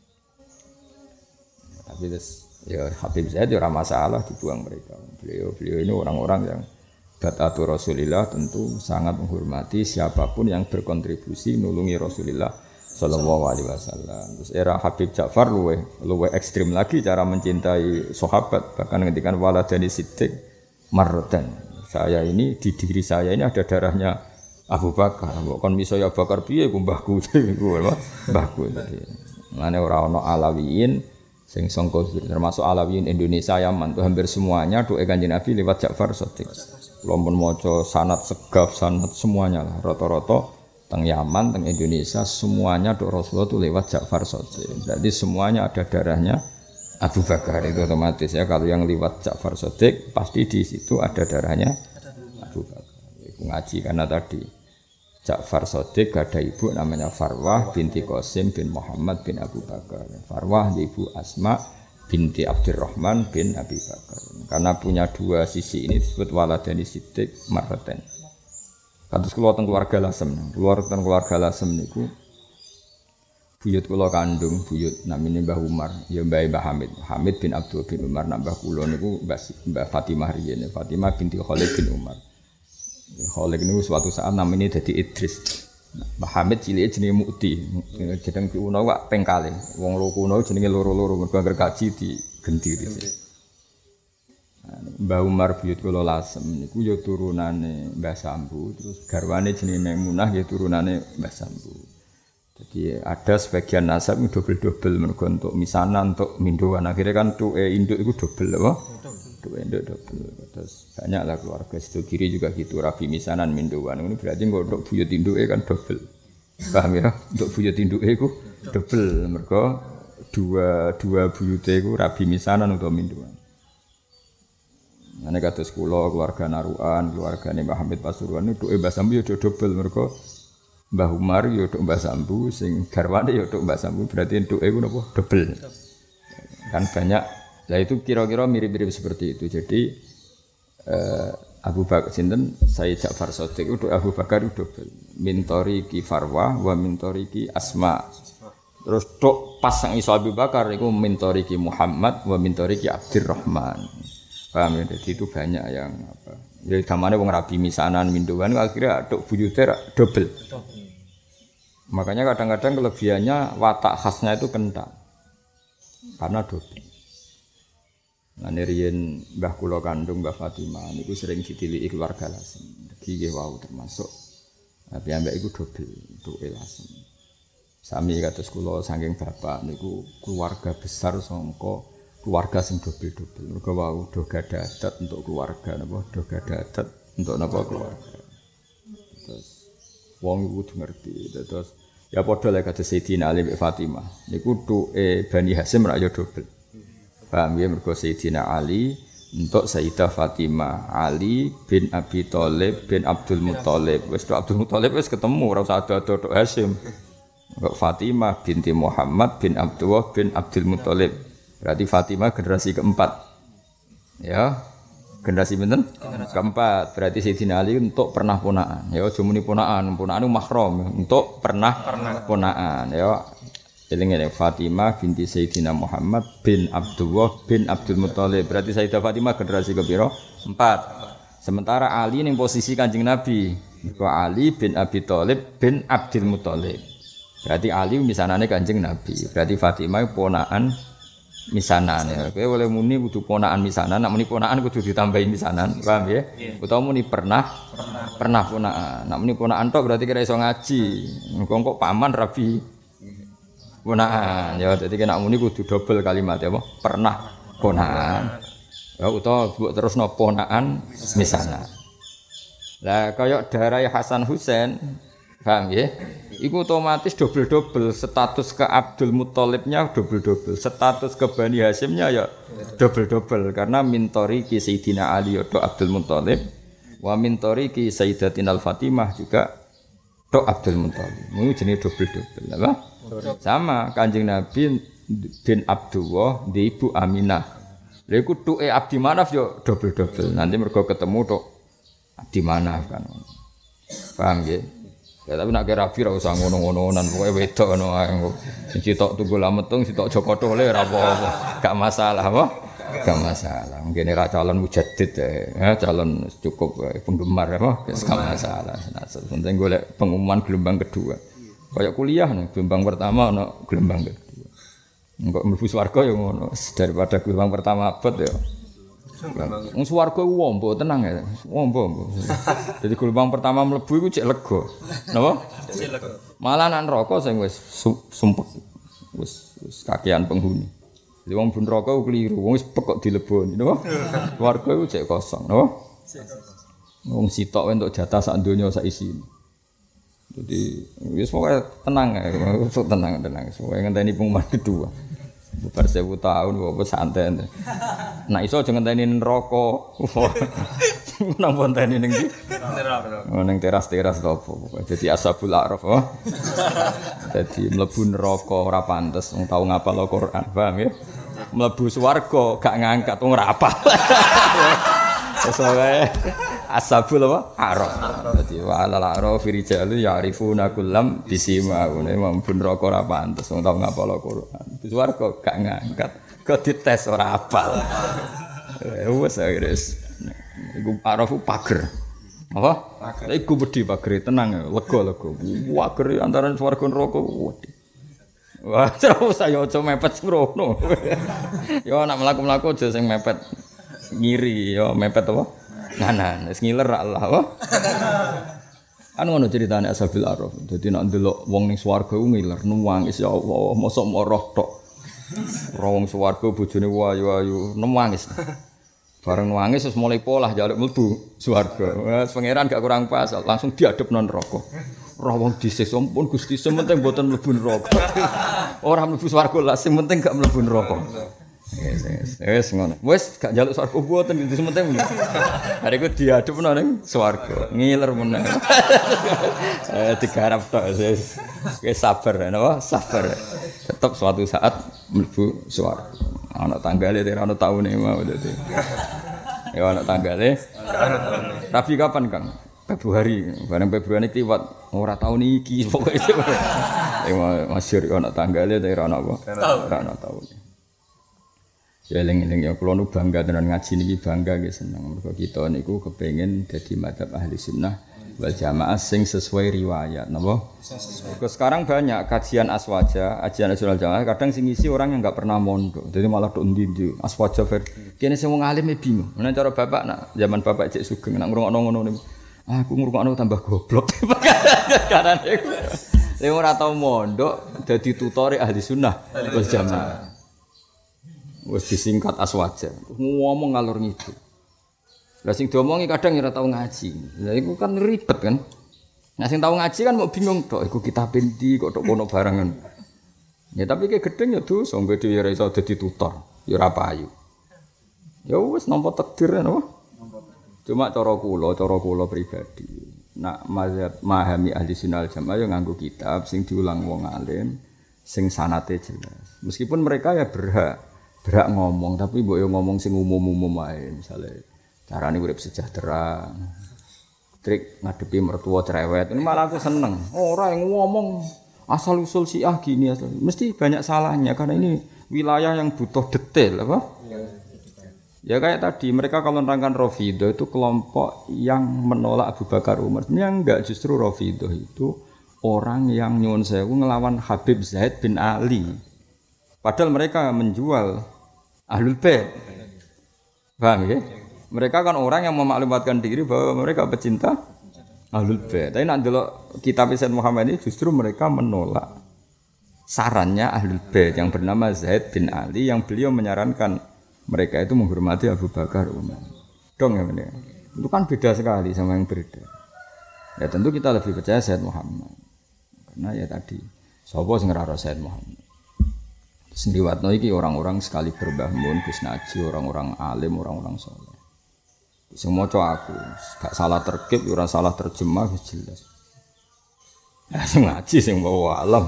[SPEAKER 2] Tapi ya Habib Zaid ora masalah dibuang mereka. Beliau ini orang-orang yang batatu Rasulillah tentu sangat menghormati siapapun yang berkontribusi nulungi Rasulillah sallallahu alaihi wasallam. Terus era Habib Ja'far luwe ekstrim lagi cara mencintai sahabat, bahkan ngendikan waladani siddiq marratan. Saya ini di diri saya ini ada darahnya Abu Bakar. Kon miso ya Bakar piye ku mbahku iku mbahku. Mane ora ana Alawiyin sing sangka termasuk Alawiyin Indonesia Yaman tuh hampir semuanya doa Kanjeng Nabi lewat Ja'far Shadiq. Kula pun maca sanad segaf sanad semuanya lah rata-rata teng Yaman teng Indonesia semuanya doa Rasulullah tuh lewat Ja'far Shadiq. Jadi semuanya ada darahnya Abu Bakar itu otomatis ya, kalau yang lewat Ja'far Shadiq pasti di situ ada darahnya Abu Bakar. Itu ngaji karena tadi Ja'far Shadiq ada ibu namanya Farwah binti Qasim bin Muhammad bin Abu Bakar. Farwah ibu Asma binti Abdurrahman bin Abi Bakar. Karena punya dua sisi ini disebut waladani siddiq marratan. Kados kula teng keluarga Lasem. Keluarga Lasem niku buyut kula kandung, buyut namine Mbah Umar, ya Mbah Hamid. Hamid bin Abdul bin Umar nambah kula niku Mbah Fatimah riyen. Fatimah binti Khalid bin Umar. Khalid niku suatu saat namanya dadi Idris. Mbah Hamid cilike jenenge Mukti. Jeneng kuno kok pengkale. Wong loro kuno jenenge loro-loro mergo angger kaji digenti dhisik. Mbah Umar buyut kula Lasem niku ya turunane Mbah Sambu, terus garwane jenenge Maimunah ya turunane Mbah Sambu. Jadi ada sebagian nasab itu double-double mergo untuk misanan untuk minduan. Akhirnya kan tuh induk itu double apa? Induk double. Terus banyaklah keluarga situ kiri juga gitu rabi misanan minduan. Ini berarti kok untuk buyut induke kan double. Paham ya? Untuk buyut induke itu double mergo dua buyute iku rabi misanan utawa minduan. Ane kados kula keluarga Naruan, keluargane Mbah Hamid Pasuruan itu Mbah Sambu yo double mergo Mbah Umar yo tok Mbah Sambu sing garwane yo tok Mbah Sambu berarti entuke ku napa double. Kan banyak. Lah itu kira-kira mirip-mirip seperti itu. Jadi Abu Bakar sinten Sayyid Ja'far Shadiq itu Abu Bakar itu double. Mintori ki Farwah wa mintori ki Asma. Terus tok pas sang iso Abu Bakar iku mintori ki Muhammad wa mintori ki Abdurrahman. Paham ya? Jadi itu banyak yang apa Ya gamane wong rabi misanan minduan akhirnya aduk buyute double. Makanya kadang-kadang kelebihannya watak khasnya itu kental. Karena double. Nah riyen mbah kula kandung Mbah Fatimah niku sering ditiliki keluarga Lasem. Iki nggih wau termasuk piyambak iku double duke Lasem. Sami kados kula saking bapak niku keluarga besar sangka keluarga sing dobel-dobel. Mergo wau do gadah adat untuk keluarga napa, do gadah adat untuk napa keluarga. Terus wong kudu ngerti. Terus ya padha lek kados Sayyidina Ali bin Fatimah. Niku duke Bani Hasyim ra ya dobel. Paham ya mergo Sayyidina Ali untuk Sayyidah Fatimah, Ali bin Abi Thalib bin Abdul Muthalib. Wis do Abdul Muthalib wis ketemu ora usah ado-ado tok Hasyim. Fatimah binti Muhammad bin Abdullah bin Abdul Muthalib. Berarti Fatimah generasi keempat. Ya. Generasi pinten? Keempat. Berarti Sayyidina Ali untuk pernah ponaan. Ya aja muni ponaan, ponaan itu mahram untuk pernah ponaan. Ya. Eling-eling Fatimah binti Sayyidina Muhammad bin Abdullah bin Abdul Muthalib. Berarti Sayyidah Fatimah generasi kepiro? 4. Sementara Ali ning posisi Kanjeng Nabi. Iku Ali bin Abi Thalib bin Abdul Muthalib. Berarti Ali misanane Kanjeng Nabi. Berarti Fatimah ponaan misanan ya. Kowe oleh muni kudu ponaan misanan, nek muni ponaan kudu ditambahi misanan, paham ya? Utawa muni pernah ponaan. Nek muni ponaan tok berarti kira iso ngaji. Engko kok paman rabi ponaan ya. Dadi nek muni kudu double kalimat ya apa? Pernah ponaan. Ya utawa mbok terusno ponaan misanan. Lah kaya darai Hasan Husain, paham ya? Iku otomatis double-double status ke Abdul Muthalibnya double-double, status ke Bani Hasyimnya ya double-double karena mintori ki Sayyidina Ali atau Abdul Muthalib wa mintori ki Sayyidatina Fatimah juga tok Abdul Muthalib. Ini jenis double-double apa? Sama Kanjeng Nabi bin Abdullah di Ibu Aminah. Lha iku tuke Abdi Manaf yo double-double. Nanti mergo ketemu tok Abdi Manaf kan. Paham nggih? Ya tapi nak rabi ra usah ngono-ngononan pokoke wedok ngono ae. Sing sitok Tunggul Ametung, sitok Joko Tole ora apa-apa. Gak masalah apa? Gak masalah. Mungkin ra calon mujaddid ya, calon cukup penggemar apa? Gak masalah. Nah, penting golek pengumuman gelombang kedua. Kayak kuliah nih, gelombang pertama ono gelombang kedua. Engko mlebu swarga ya ngono. Daripada gelombang pertama abot ya. Wong swarga ku wombo tenang ya. Wombo. Jadi gelombang pertama mlebu iku cek lega. Napa? Cek lega. Malah nang neraka sing wis sumpek. Wis kakean penghuni. Jadi wong ben neraka ku kliru. Wong wis pek kok dileboni, napa? Swarga iku cek kosong, napa? Wong sitok entuk jatah sak donya sak isine. Jadi wis pokoke tenang ya. Tenang. Pokoke ngenteni pengumuman kedua. Bar 1000 tahun apa santai. Nah iso aja ngenteni neraka. Nang ponteni ning ndi? Neraka. Ning teras-teras to apa. Dadi ashabul araf. Dadi mlebu neraka ora pantes wong tau ngapal Al-Qur'an, paham ya? Mlebu swarga gak ngangkat wong ora apal. Wis wae ashabul apa? Araf. Dadi wa alal araf rijalu ya'rifuna kullam bisimahune mlebu neraka ora pantes wong tau ngapal Al-Qur'an. Di swarga gak ngangkat, kok dites ora apal. Wes wis. Iku arafu pager. Apa? Pager. Iku wedi pagere tenang, lega. Pager antara swarga neraka wedi. Wah, terus saya aja mepet sembrono. Ya nek mlaku-mlaku aja sing mepet ngiri, ya mepet apa? Nganan, wis ngiler Allah, apa? Kan ngono ceritane Ashabil Araf. Dadi nek ndelok wong ning swarga ku ngiler, nangis ya Allah, mosok moroh tok. Ora wong swarga bojone wayu-wayu, nangis. Bareng nangis terus mulai polah njaluk mlebu swarga. Wes pangeran gak kurang pas, langsung diadepno neraka. Ora wong disiksa pun Gusti, sementing mboten mlebu neraka. Ora mlebu swarga lah, sing penting gak mlebu neraka. Wes ngono. Wes gak njaluk swarga mboten itu sementing. Hari iku diadepno ning swarga. Ngiler meneh. Digarap tok wis. Wis sabar napa? Sabar. Tetep suatu saat mlebu swarga. Ana tanggale ora ana taune mau dadi. Ya ana tanggale. Tapi kapan, Kang? Februari. Bareng Februari kliwat ora taun iki pokoke. Masyhur ana tanggale ora ana apa? Ora ana taune. Ya eling-eling ya kula nu bangga tenan ngaji niki bangga nggih seneng. Mergo kita niku kepengin dadi madzhab ahli sunnah wal jamaah sing sesuai riwayat napa? Terus sekarang banyak kajian aswaja, ajian nasional jamaah kadang sing ngisi orang yang enggak pernah mondok. Jadi malah tok ndi-ndi aswaja ver. Kene sing wong alim bingung. Menawa cara bapak nak zaman bapak cek sugeng nak ngrungokno ngono niku. Aku ngrungokno tambah goblok. Karane iku. Lha ora tau mondok dadi tutore ahli sunnah wal jamaah. Wis disingkat aswaja. Ngomong ngalor ngidul. Lah sing diomongi kadang ora tau ngaji. Lah iku kan ribet kan. Nah sing tau ngaji kan mau bingung tok iku kitab endi kok tok kono barangan. Ya tapi ki gedeng ya dosa nggo dhewe ora iso dadi tutor. Ya ora payu. Ya wis nampa takdir napa. Cuma cara kula pribadi. Nak mazhab memahami ahli sunnah jamaah ya nganggo kitab sing diulang wong alim sing sanate jelas. Meskipun mereka ya berhak ngomong tapi mbok yo ngomong sing umum-umum wae misale carane urip sejahtera trik ngadepi mertua cerewet ini malah aku seneng ora yang ngomong asal usul Syiah gini asal mesti banyak salahnya karena ini wilayah yang butuh detail apa ya kayak tadi mereka kalau menerangkan Rafidhah itu kelompok yang menolak Abu Bakar Umar sebenarnya enggak justru Rafidhah itu orang yang nyuwun sewu ngelawan Habib Zaid bin Ali. Padahal mereka menjual Ahlul Bait. Paham ya? Mereka kan orang yang memaklumatkan diri bahwa mereka pecinta Ahlul Bait. Tapi nak delok kitab Sayyid Muhammad ini justru mereka menolak sarannya Ahlul Bait yang bernama Zaid bin Ali yang beliau menyarankan mereka itu menghormati Abu Bakar Umar. Dong ya benar. Itu kan beda sekali sama yang beredar. Ya tentu kita lebih percaya Sayyid Muhammad. Karena ya tadi sapa sing ora Sayyid Muhammad. Sendiwatno iki orang-orang sekali Mbah Mun, Gus Naji, orang-orang alim, orang-orang saleh. Sing maca aku, gak salah terkib, ora salah terjemah wis jelas. Ya sing ngaji sing bawa alam.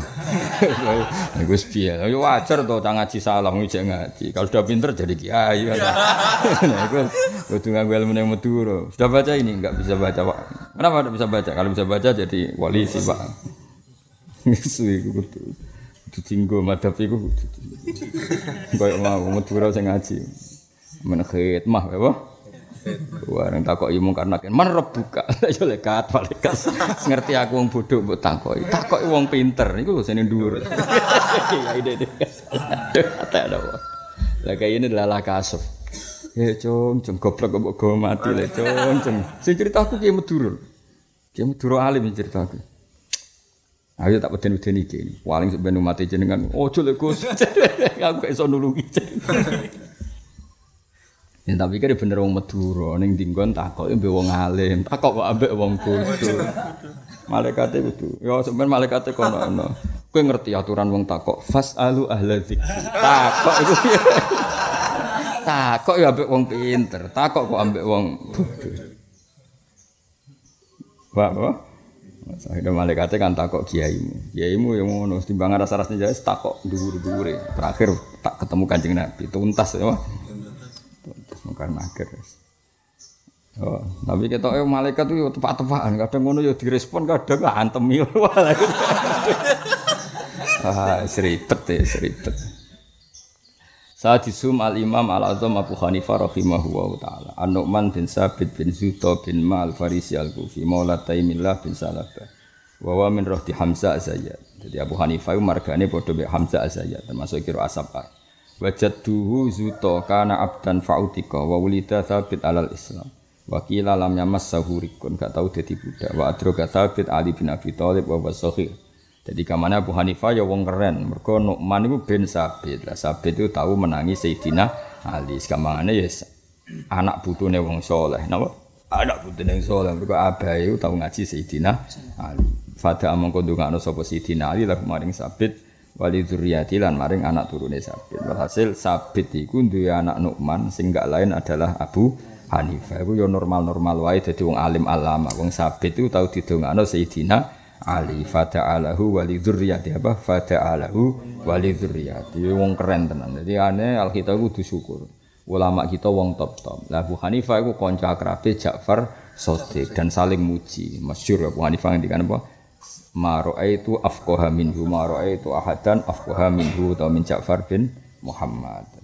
[SPEAKER 2] Iku wis piye? Ya wajar to cah ngaji salah ngijek ngaji. Kalau sudah pinter jadi kiai. Nah, iku kudu nganggo ilmu ning Madura. Sudah baca ini enggak bisa baca, Pak. Kenapa enggak bisa baca? Kalau bisa baca jadi wali sih, Pak. Isu iku kudu ditinggo madhab iku koyo mau Madura sing ngaji men khidmah apa wareng takoki mung karena man rebuka ya lekat malaikat ngerti aku wong bodho mbok takoki wong pinter niku lho sene dhuwur ya ide tak ada lah kaya ini adalah kasuf ya cung goblok mbok go mati le cung sing ceritaku ki Madura alim ceritaku. Ayo tak peden-peden iki. Paling sampeyan umat jenengan. Ojo lek Gus. Aku iso nulungi. Ya tapi kan bener wong Madura ning dinggon takoke mbek wong alim. Takok kok ambek wong kudu. Malaikate kudu. Ya sampeyan malaikate kono ana. Kowe ngerti aturan wong takok. Fasalu ahla dzikri. Takok iku piye? Takok ya ambek wong pinter. Takok kok ambek wong bodho. Wah. Akhirnya malaikatnya kan takok kiaimu yang ngono timbangan rasa-rasanya jelas takok dhuwur-dhuwure terakhir tak ketemu Kanjeng Nabi tuntas ya tuntas mungkin akhir tapi ketoke malaikat itu tepak-tepakan kadang ngono ya direspon kadang antemi seribet Sadisum al-Imam al-Azam Abu Hanifah rahimahullah ta'ala An-Nu'man bin Sabit bin Zuto bin Ma'al Farisi al-Kufi Maula Taimillah bin Salabah Wawa min rohdi Hamzah Azayat. Jadi Abu Hanifah itu margane podo be Hamzah Azayat termasuk kira asapar Wajadduhu Zuto kana abdan fa'utika wa wulida Thabit alal Islam Wakila lam yamassahu rikun gak tahu dadi budak Wa adroga Thabit Ali bin Abi Thalib wa wasohir. Jadi kamane Abu Hanifah ya wong keren. Mergo Nu'man iku bin Sabit. Lah Sabit itu tahu menangi Sayyidina Ali. Sekamane ya anak putune wong saleh. Napa? Anak putune wong saleh. Mergo abahe iku tahu ngaji Sayyidina Ali. Fada mongko ndongakno sapa Sayyidina Ali lan maring Sabit wali dzurriyyati lan maring anak turune Sabit. Walhasil Sabit iku duwe anak Nu'man sing gak lain adalah Abu Hanifah. Iku ya normal-normal wae dadi wong alim alama. Wong Sabit iku tahu didongakno Sayyidina Ali fata'alahu wali dzurriyyati apa fata'alahu wali dzurriyyati wong keren tenan. Dadi ane Alkitab kudu syukur. Ulama kita wong top-top. Lah Abu Hanifah iku kanca akrabe Ja'far Shadiq dan saling muji. Masyhur Abu Hanifah ngendikan apa? Ma ra'aitu afqaha minhu ma ra'aitu ahadan afqaha minhu ta min Ja'far bin Muhammad.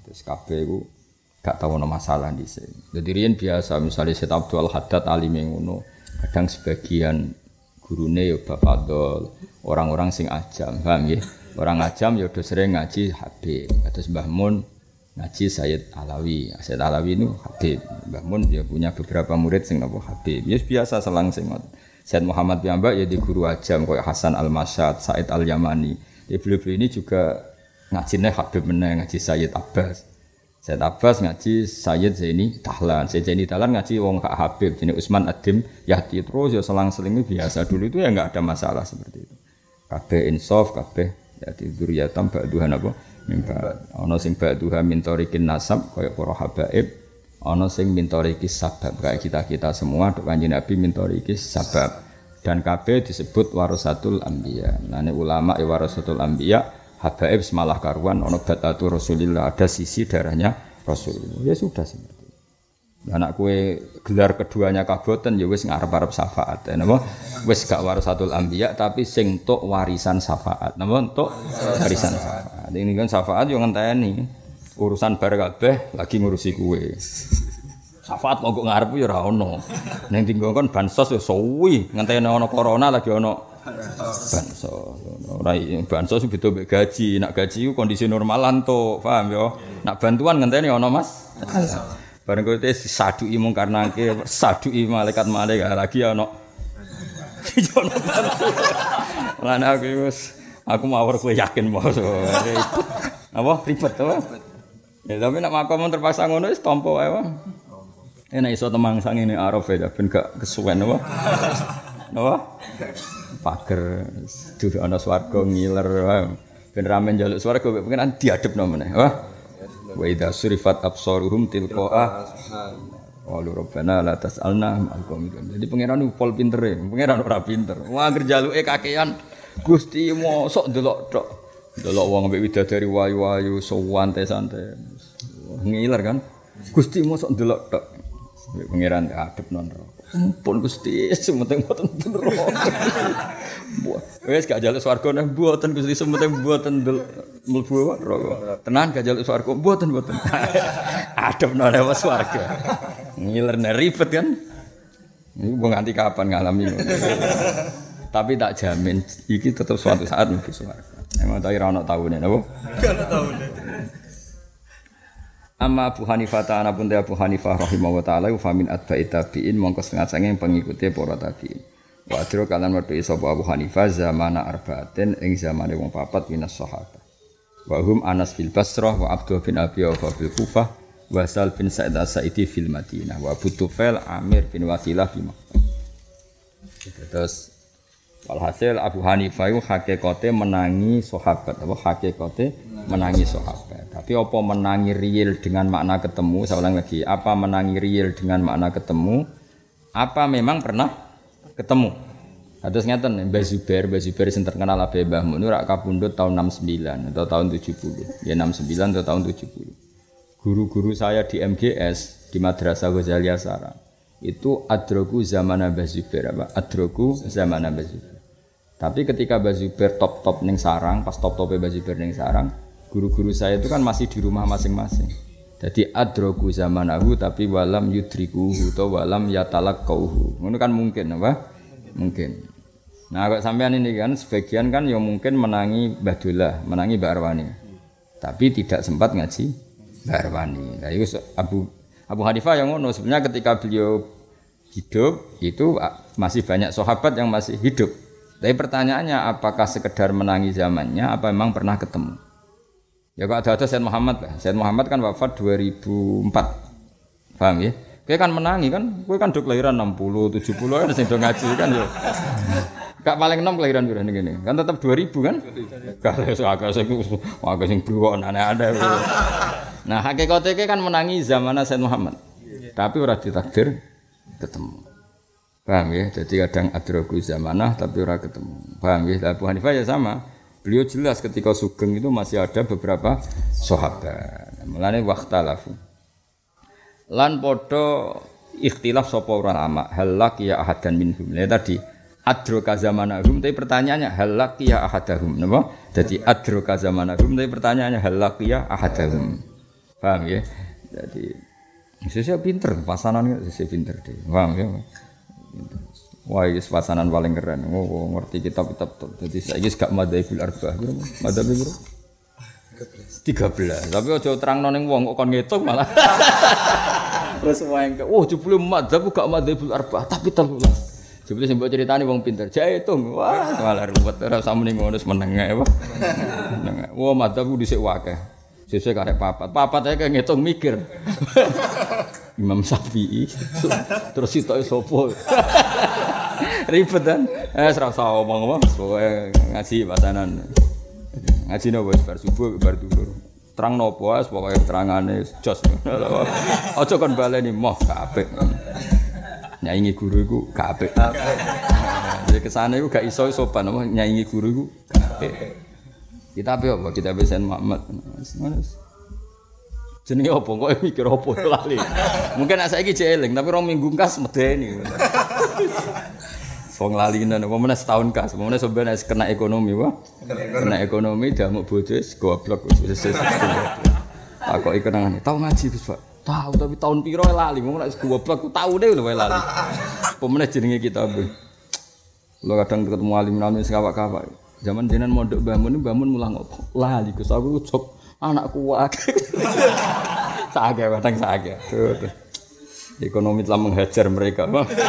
[SPEAKER 2] Terus kabeh iku gak tau ono masalah dhisik. Dadi riyen biasa misalnya Syekh Abdul Haddad alime ngono, kadang sebagian gurune ya Bafadol, orang-orang sing ajam, paham nggih? Orang ajam ya udah sering ngaji Habib. Terus Mbah Mun ngaji Sayyid Alawi. Sayyid Alawi itu Habib. Mbah Mun ya punya beberapa murid sing napa Habib. Ya biasa selang sing ngoten. Sayyid Muhammad piyambak ya di guru ajam kayak Hasan Al-Masyad, Said Al-Yamani. Ya beliau-beliau ini juga ngajine Habib meneh ngaji Sayyid Abbas. Sayyid Abbas ngaji Sayyid Zaini Tahlan. Sayyid Zaini Tahlan ngaji wong Kak Habib jenenge Utsman Adim Yahdi terus ya selang-seling biasa. Dulu itu ya enggak ada masalah seperti itu. Kabeh insaf, kabeh ya dzurriyatam ba'duhan apa mimba. Ana sing ba'duha min tariqin nasab kaya para habaib, ana sing min tariqis sabab kayak kita-kita semua dok Kanjeng Nabi min tariqis sabab. Dan kabeh disebut warasatul anbiya. Nane ulama ya warasatul anbiya, habaib semalah karuan ana batatu Rasulillah, ada sisi darahnya Rasulullah. Ya sudah seperti itu. Anak kue gelar keduanya kaboten ya wis ngarep-arep syafaat. Napa? Wis gak warasatul anbiya tapi sing tok warisan syafaat. Napa tok warisan syafaat. Ini kan syafaat yo ngenteni urusan bar kabeh lagi ngurusi kue. Syafaat kok ngarep ya ora ono. Ning tinggongkon bansos ya suwi, ngenteni ana corona lagi ono bansos. Ora bansos beda mek gaji. Nak gaji ku kondisi normalan to, paham yo. Nak bantuan ngenteni ono Mas. Bareng kowe wis saduki mung karena ke saduki malaikat-malaikat lagi ono. Ono bantuan. Lan aku mawar kowe yakin mau. Apa ribet to? Ya tapi nak makom terpaksa ngono wis tampa wae. Enak iso temangsang ini araf ya ben gak kesuwen apa? Napa? Pager duwe ana swarga ngiler wae. Ben ramen njaluk swarga kok pengen diadepno meneh. Wah. Wa idza surifat absaruhum tilqa'a walu rabbana la tas'alna al-qawmidun. Jadi pangeran pol pintere, pangeran ora pinter. Wah anggere jaluke kakean Gusti mosok ndelok tok. Ndelok wong ambek widadari wayu-wayu santai-santai. Ngiler kan? Gusti mosok ndelok tok. Pangeran adep non pun Gusti sementing mboten neraka. Wis gak njaluk swarga neh mboten Gusti sementing mboten mlebu neraka. Tenan gak njaluk swarga mboten. Adep non lewat swarga. Ngiler ribet kan. Ini mau nganti kapan ngalami ngono. Tapi tak jamin iki tetap suatu saat mlebu swarga. Emang tak ora ono taune napa? Gak ono taune. Amma Abu Hanifah ta'ala pun Abu Hanifah rahimahullah ta'ala fa min atba'i tabi'in mongko setengah sange pengikuti para tabi'in. Wa adro kalan wedhi sapa Abu Hanifah zamana arba'atin ing zamane wong papat minas sahabat. Wa hum Anas bil Basrah wa Abdullah bin Abi Awfa bil Kufah wa Sal bin Sa'id as-Sa'idi fil Madinah wa Abu Tufail Amir bin Wasilah bi Makkah. Terus walhasil Abu Hanifah itu hakikate menangi sahabat apa hakikate menangi sahabat. Tapi apa menangi real dengan makna ketemu? Saya ulang lagi, apa menangi real dengan makna ketemu? Apa memang pernah ketemu? Terus ngeten Mbah Zubair sing terkenal abe Mbah Mun ora kapundhut tahun 69 atau tahun 70. Ya 69 atau tahun 70. Guru-guru saya di MGS di Madrasah Ghazaliyah Sarang itu adroku zaman Mbah Zubair apa? Adroku zaman Mbah Zubair. Tapi ketika Mbah Zubair top ning Sarang, pas top-tope Mbah Zubair ning Sarang, guru-guru saya itu kan masih di rumah masing-masing. Jadi adroku zamanahu tapi walam yudrikuhu atau walam yatalaqauhu. Ngono kan mungkin apa? Mungkin. Nah, kok sampean ini kan sebagian kan yang mungkin menangi Mbah Dullah, menangi Mbah Arwani. Tapi tidak sempat ngaji Mbah Arwani. Nah, itu Abu Hanifah yang ngono sebenarnya ketika beliau hidup itu masih banyak sahabat yang masih hidup. Tapi pertanyaannya apakah sekedar menangi zamannya apa memang pernah ketemu? Ya kok ada Sayyid Muhammad lah. Sayyid Muhammad kan wafat 2004. Paham ya? Kowe kan menangi kan, kowe kan do kelahiran 60, 70 kan sing do ngaji kan ya. Gak paling 6 kelahiran pira ngene. Kan tetap 2000 kan? Kalau agak sing blok aneh-aneh. Nah, hakikate kan menangi zaman Sayyid Muhammad. Tapi ora ditakdir ketemu. Paham ya? Jadi kadang adraku zamanah tapi ora ketemu. Paham ya? Abu Hanifah ya sama. Beliau jelas ketika Sugeng itu masih ada beberapa sahabat. Mulane waqtalafu. Lan padha ikhtilaf sapa ulama, halak ya ahadan minhum. Ya tadi adroka zamanahum tapi pertanyaannya halak ya ahadahum, napa? Jadi adroka zamanahum tapi pertanyaannya halak ya ahadahum. Paham ya? Jadi sesuk pinter, pasanan sesuk pinter deh. Paham ya? Wah, ini pasanan paling keren. Oh, ngerti kitab-kitab tuh. Jadi saya ini gak madzhabul arba'ah. Madzhab piro? 13. Tapi aja terangno ning wong kok kon ngitung malah. Terus wae jebule madzhab gak madzhabul arba'ah, tapi 13. Jebule sing mbok critani wong pinter. Jae hitung. Wah, malah ruwet ora samene ngono meneng ae, Pak. Meneng. Wah, madzhab dhisik akeh. Sesuk karek papat. Papat ae kaya ngitung mikir. Imam Syafi'i. Terus sitoke sapa? Ribet kan? Ora usah omong-omong, pokoke ngaji pasanan. Ngaji nopo bar subuh bar dhuwur. Terang nopo wis pokoke terangane jos. Aja kon baleni moh kabeh. Nyaingi guru iku kabeh. Jadi kesane iku gak iso sopan apa nyaingi guru iku kabeh. Kitab apa? Kitab Sayyid Muhammad. Jenenge apa kok mikir apa lali. Mungkin nek saiki jek eling tapi rong minggu kas medeni. Wong lalinan apa meneh setahun kas, meneh sampeyan kena ekonomi wae. Kena ekonomi damuk bojo wis goblok wis. Takoki kenangane, tau ngaji Gus, Pak. Tahu tapi tahun piro lali, ngomong nek goblok taune lho wae lali. Apa meneh jenenge kitab. Lo kadang ketemu alim-alim sing kawak-kawak. Zaman jenengan mondok Mbah Mun mulang opo? Lali Gus, aku cok anakku wae. Saage kadang saage. Ekonomi telah menghajar mereka.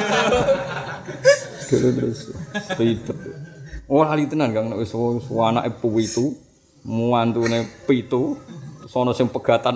[SPEAKER 2] Terus ribet. Oh lali tenan Kang nek wis anake pitu, muantune 7, sono sing pegatan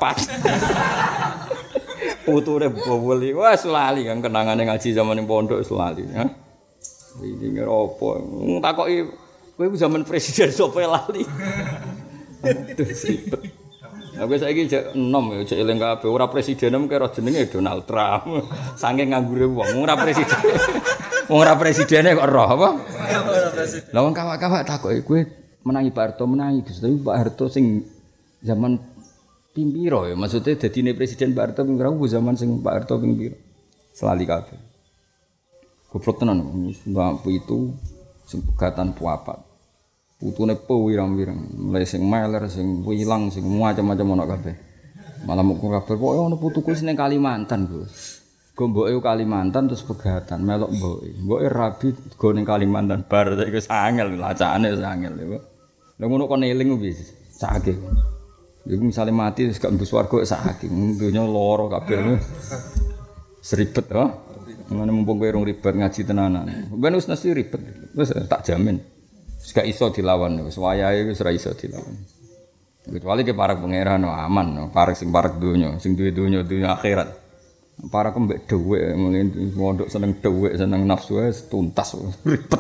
[SPEAKER 2] 4. Putune boboli. Wah lali Kang kenangane ngaji zaman ning pondok wis lali, ha. Iki ngira apa? Takoki kowe zaman presiden sapa lali. Terus ribet. Aku saiki jek enom ya jek eling kabeh ora presiden mung kira jenenge Donald Trump. Saking nganggure wong ora presiden. Wong ora presidene kok roh apa? Ora presiden. Lah wong kawak-kawak takoki kowe menangi Pak Harto menangi Gus, tapi Pak Harto sing zaman ping piro ya? Maksudnya dadine presiden Pak Harto ping piro zaman sing Pak Harto ping piro? Selali kabeh. Goblok tenan mbak itu sing pegatan puapat. Putune pirang-pirang, mulai sing meler, sing wilang, sing macam-macam ana kabeh. Malah mung kabeh pokoke ana putuku sing ning Kalimantan, Gus. Gomboke Kalimantan terus pegatan melok mboke. Mboke rabi go ning Kalimantan bar iku sangel lacakane sangel lho. Lah ngono kon eling piye? Sakake. Iku misale mati wis gak mbus warga sakake. Donya lara kabeh. Seribet ha. Ngene mumpung kowe rung ribet ngaji tenanan. Ben wis mesti ribet. Wis tak jamin. Gak iso dilawan, wis wayahe wis ora iso dilawan. Kecuali ke para pangeran aman, para sing parek donya, sing duwe donya akhirat. Para kembek dhuwit, mungkin mondok seneng dhuwit, seneng nafsu wis tuntas ribet.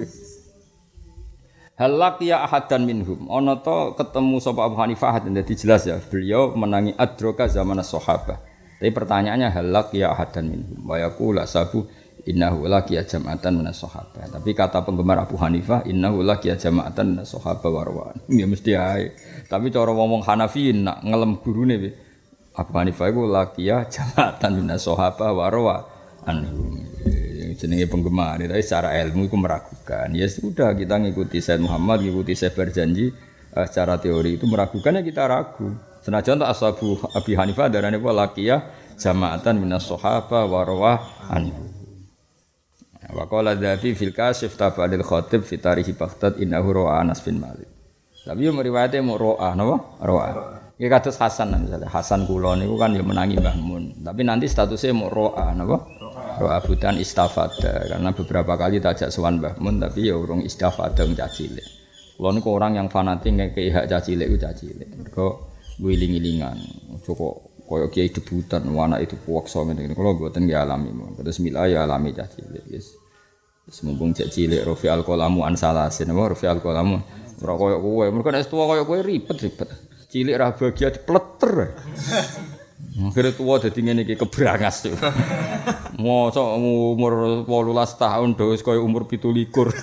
[SPEAKER 2] Halak ya ahadan minhum. Ana to ketemu sapa Abu Hanifah dadi jelas ya, beliau menangi adroka zaman sahabat. Tapi pertanyaannya halak ya ahadan minhum. Wa yaqulu sabu innahu laqiya jama'atan minas sahabah. Tapi kata penggemar Abu Hanifah innahu laqiya jama'atan minas sahabah warwan. Ya mesti ae. Tapi cara ngomong Hanafiin nak ngelem gurune Abu Hanifah iku laqiya jama'atan minas sahabah warwan. Jenenge penggemar, tapi secara ilmu iku meragukan. Ya sudah kita ngikuti Said Muhammad, ngikuti Syekh Barzanji secara teori itu meragukan ya kita ragu. Senajan tak ashabu Abi Hanifah darane apa laqiya jama'atan minas sahabah warwan. Wa qala Dzafi fil Kasyif tabadil Khatib fi tarikh Baghdad innahu ra'a Anas bin Malik. Tapi yo meriwayate mau ra'a napa? Ra'a. Iki kados Hasan misalnya. Hasan kula niku kan yo menangi Mbah Mun. Tapi nanti statusnya mau ra'a napa? Ra'a budan istafada karena beberapa kali tajak sowan Mbah Mun tapi yo urung istafada wong cilik. Kula niku orang yang fanatik ngekeki hak cilik ku cilik. Mergo wiling-wilingan. Cukup kaya kiai debutan anak itu puwaksa ngene. Kula mboten nggih alami. Terus mila ya alami cilik. Yes. Semumpung cek cilik Rafi al-Qalamu an salasin apa Rafi al-Qalamu ora koyo kowe mergo nek tuwa koyo kowe ribet cilik ra bahagia dipleter akhire tuwa dadi ngene iki kebrangas mosok umur 18 tahun do wis koyo umur 17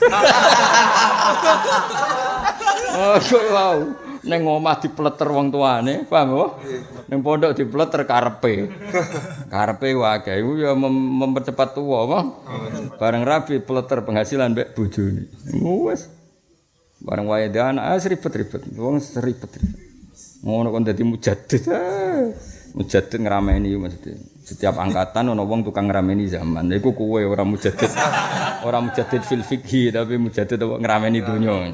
[SPEAKER 2] koyo wau ning omah dipleter wong tuane paham apa ning pondok dipleter karepe wae iku ya mempercepat tuwa apa bareng rabi pleter penghasilan mbek bojone wis bareng wae dan ribet-ribet wong ribet Ngono kon dadi mujaddid. Mujaddid ngrameni maksudnya. Setiap angkatan ana wong tukang ngrameni zaman. Iku kowe ora mujaddid. Ora mujaddid fil fikhi tapi mujaddid ngrameni donya.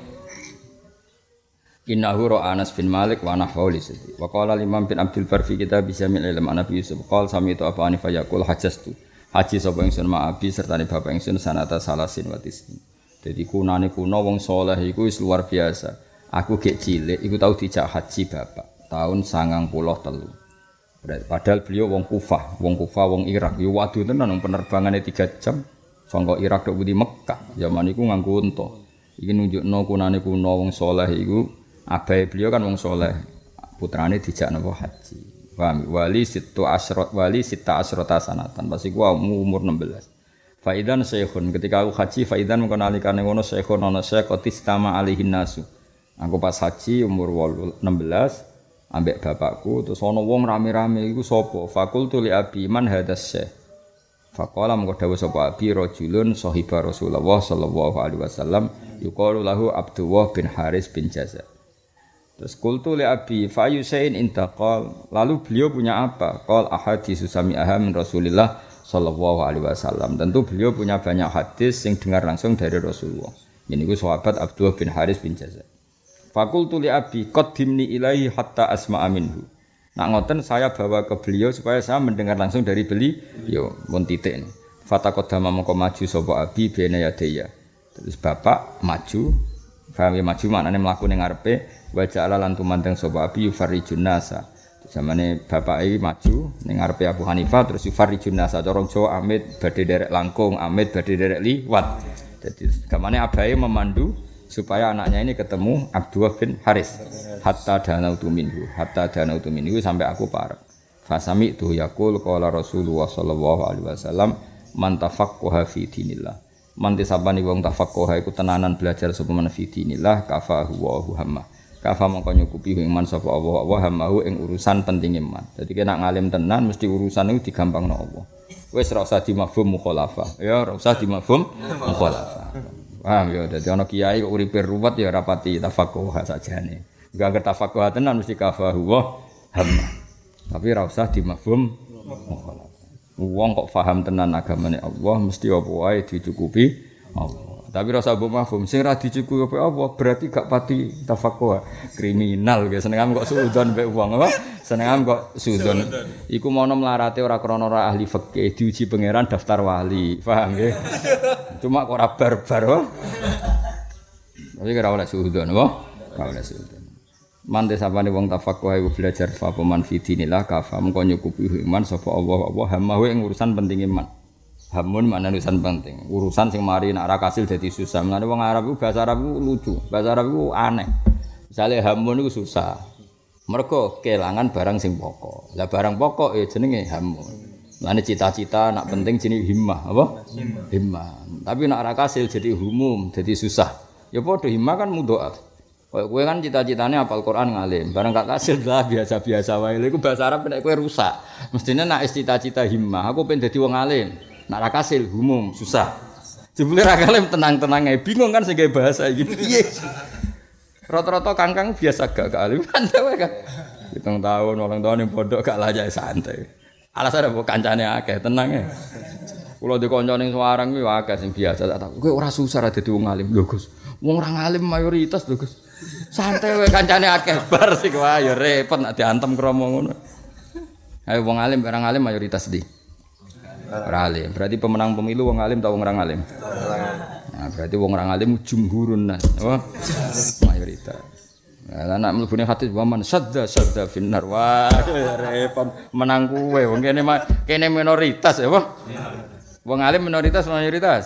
[SPEAKER 2] Innahu ra Anas bin Malik wa nahwu lisati. Wa qala Imam bin Abdul Bar fi kitab Jamil ilm Nabi Yusuf qala sami tu apa anifa yaqul hajastu. Haji sapa ingsun ma'abi sertane bapak ingsun sanata salasin wa tis'in. Dadi kunane kuno wong saleh iku wis luar biasa. Aku gek cilik iku tau dijak haji bapak tahun 93. Padahal beliau wong Kufah, wong Irak. Yo waduh tenan penerbangane 3 jam saka Irak tok di Mekah. Zaman iku nganggo unta. Iki nunjukno kunane kuno wong saleh iku. Abai beliau kan wong soleh, putrane dijak napa haji. Paham? Wali sita asrota sanatan. Pas iku umur 16. Faidan syekhun ketika aku haji faidan mengko nalikane ngono syekhun ana syekh qatistama alihin nasu. Aku pas haji umur 16 ambek bapakku terus ana wong rame-rame iku sapa? Fakultu li abi man hadas syekh. Faqala mengko dawuh sapa abi rajulun sahiba Rasulullah sallallahu alaihi wasallam yuqalu lahu Abdullah bin Haris bin Jaza. Terus qultu li abi fa yusain intaqal lalu beliau punya apa? Qal ahaditsu sami'aha min Rasulillah sallallahu alaihi wasallam. Tentu beliau punya banyak hadis yang dengar langsung dari Rasulullah. Ini ku sahabat Abdullah bin Haris bin Jaza. Fa qultu li abi qaddimni ilaihi hatta asma'a minhu. Nak ngoten saya bawa ke beliau supaya saya mendengar langsung dari beliau. Mun titik. Fataqaddama mongko maju sapa abi bena yadaya. Terus bapak maju, faham ya maju maknane mlaku ning ngarepe wa ja'ala lan tumandang sapa abi yufarijun nasa. Zamane bapak iki maju ning ngarepe Abu Hanifah terus yufarijun nasa cara Jawa amit badhe derek langkung, amit badhe derek liwat. Jadi gamane abahe memandu supaya anaknya ini ketemu Abdullah bin Haris hatta danautu minhu sampai aku parek. Fasami tu yaqul qala Rasulullah sallallahu alaihi wasallam man tafaqqaha fi dinillah. Man tisabani wong tafaqqaha iku tenanan belajar sapa men fi dinillah kafahu wa hamma. Kafa mongko nyukupi ing man sapa Allah wa hammahu ing urusan penting iman. Dadi nek ngalim tenan mesti urusan iku digampangno Allah. Wis ora usah dimafhum mukhalafah. Ya ora usah dimafhum mukhalafah. Paham ya, dadi ana kiai kok uripe ruwet ya rapati tafaqquh sajane. Enggak tafaqquh tenan mesti kafahu wa hamma. Tapi ora usah dimafhum mukhalafah. Wong kok paham tenan agamane Allah mesti apa wae dicukupi Allah. Tapi ora usah mbok mafhum sing ra dicukupi Allah berarti gak pati tafaqquh. Kriminal ge senengam kok suudzon mbek wong apa? Senengam kok suudzon. Iku mono mlarate ora krana ora ahli fikih diuji pangeran daftar wali. Paham nggih? Cuma kok ora barbar wae. Tapi ora oleh suudzon apa? Ora oleh suudzon. Mante sapane wong tafaqquh iku belajar fa peman fidinillah kafa mengko nyukupi iman sapa Allah hamawe ing urusan penting iman. Hamun makna urusan penting. Urusan sing mari nek ora kasil dadi susah. Mulane wong Arab iku bahasa Arab iku lucu. Bahasa Arab iku aneh. Misale hamun iku susah. Mergo kelangan barang sing pokok. Lah barang pokok jenenge hamun. Mulane cita-cita nak penting jenenge himmah, apa? Himmah. Tapi nek ora kasil jadi humum, jadi susah. Ya padha himmah kan mudhoaf. Kowe kan cita-citane hafal Quran ngalim, barang gak kasil lah biasa-biasa wae. Lha iku bahasa Arab nek kowe rusak. Mestine nek cita-cita himmah, aku pengen dadi wong alim. Nek ra kasil humum, susah. Jebule ra kalim tenang-tenang ae, bingung kan sing gawe bahasa iki. Piye? Rata-rata kangkang biasa gak alim kan wae kan. 7 tahun, 8 tahun ning pondok gak layak santai. Alasane mbok kancane akeh, tenang ae. Kula di kanca ning Semarang kuwi akeh sing biasa tak tak. Kowe ora susah ra dadi wong alim. Lho Gus, wong ra ngalim mayoritas lho Gus. Santai wae kancane akeh bar sik wae ya repot nek diantem kromo ngono. Ayo wong alim barang alim mayoritas di. Ora alim. Berarti pemenang pemilu wong alim ta wong ora alim? Nah, berarti wong ora alim jumhurun nas. Oh, mayoritas. Lah nek mlebune hadis waman sadda finnar. Wah, repot menang kowe. Wong kene minoritas ya, apa? Wong alim minoritas mayoritas.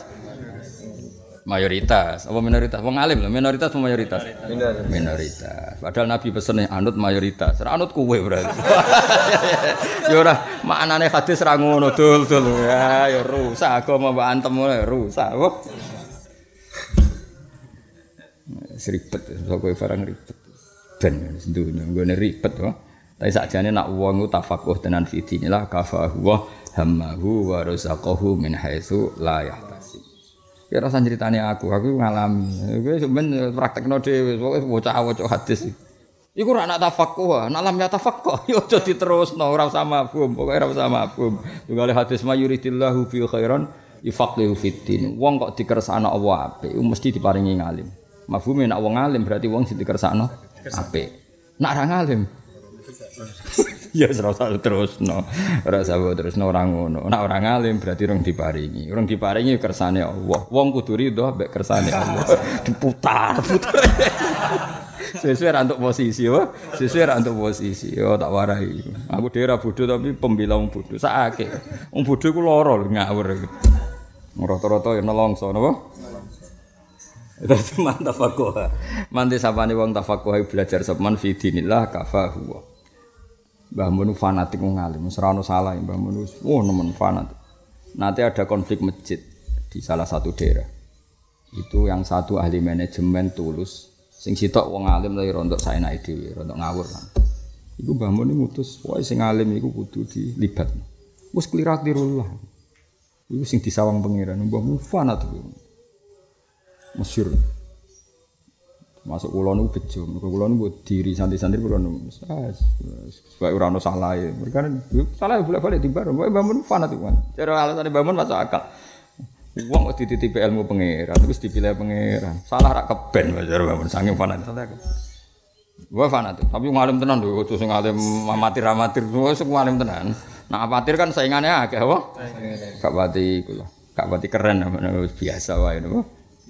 [SPEAKER 2] Mayoritas, apa minoritas? Wong alim lho, minoritas apa mayoritas? Minoritas. Padahal Nabi pesene anut mayoritas. Ora anut kowe berarti. Ya ora, maknane hadis ra ngono dul. Ya rusak agama mbok antem rusak. Ribet, kowe barang ribet. Ben dunya nggone ribet wae. Tapi sakjane nak wong ku tafaqquh tenan fi dinillah kafahu wa hammahu wa razaqahu min haitsu la yahtasib. Ya rasa ceritane aku ngalami. Kowe sampeyan praktekno dhewe, pokoke bocah-bocah hadis. Iku ora nak tafaqquh, nak lam ya tafaqquh yo aja diterusno ora usah mafhum, pokoke ora usah mafhum. Tunggal hadis mayuridillahu fi khairan yufaqihu fiddin. Wong kok dikersakno Allah apik, mesti diparingi ngalim. Mafhume nak wong alim berarti wong sing dikersakno apik. Nak ora ngalim ya ora usah terusno. Ora usah terusno ora ngono. Nak ora ngalim berarti urung diparingi. Urung diparingi kersane Allah. Wong kudu ridho mbek kersane Allah. Diputar. Sesuai untuk posisi, sesuai untuk posisi. Yo tak warai. Aku dhewe ora bodho tapi pembela wong bodho. Sakake. Wong bodho iku lara ngawur. Rata-rata ya nelongso napa? Itu mantap aku. Mantep sapane wong tafaqquh belajar sabman fi dinillah kafahu. Mbah Mun fanatik wong alim, ora ono salah Mbah Mun. Nemen fanatik. Nanti ada konflik masjid di salah satu daerah. Itu yang satu ahli manajemen tulus. Sing sitok wong alim lagi rontok saenake dhewe, rontok ngawur kan. Iku Mbah Mun ngutus, wae sing alim iku kudu dilibatno. Wis klirak-klirullah. Iku sing disawang pangeran, Mbah Mun fanatik. Masyhur. Masuk kula niku bejo, mergo kula niku diri santri-santri kula niku. Supaya ora ono salah. Mereka salah bolak-balik tibar, Mbah Mun fanatik kan. Cara alasane Mbah Mun masuk akal. Wong kok dititipi ilmu pangeran, terus dipilih pangeran. Salah rak keben wajar bangun saking fanatik. Gua fanatik, tapi ngalim tenan lho, kudu sing ngalim amatir-amatir, sing ngalim tenan. Nah, amatir kan saingane akeh apa? Gak pati iku lho. Gak pati keren biasa wae lho.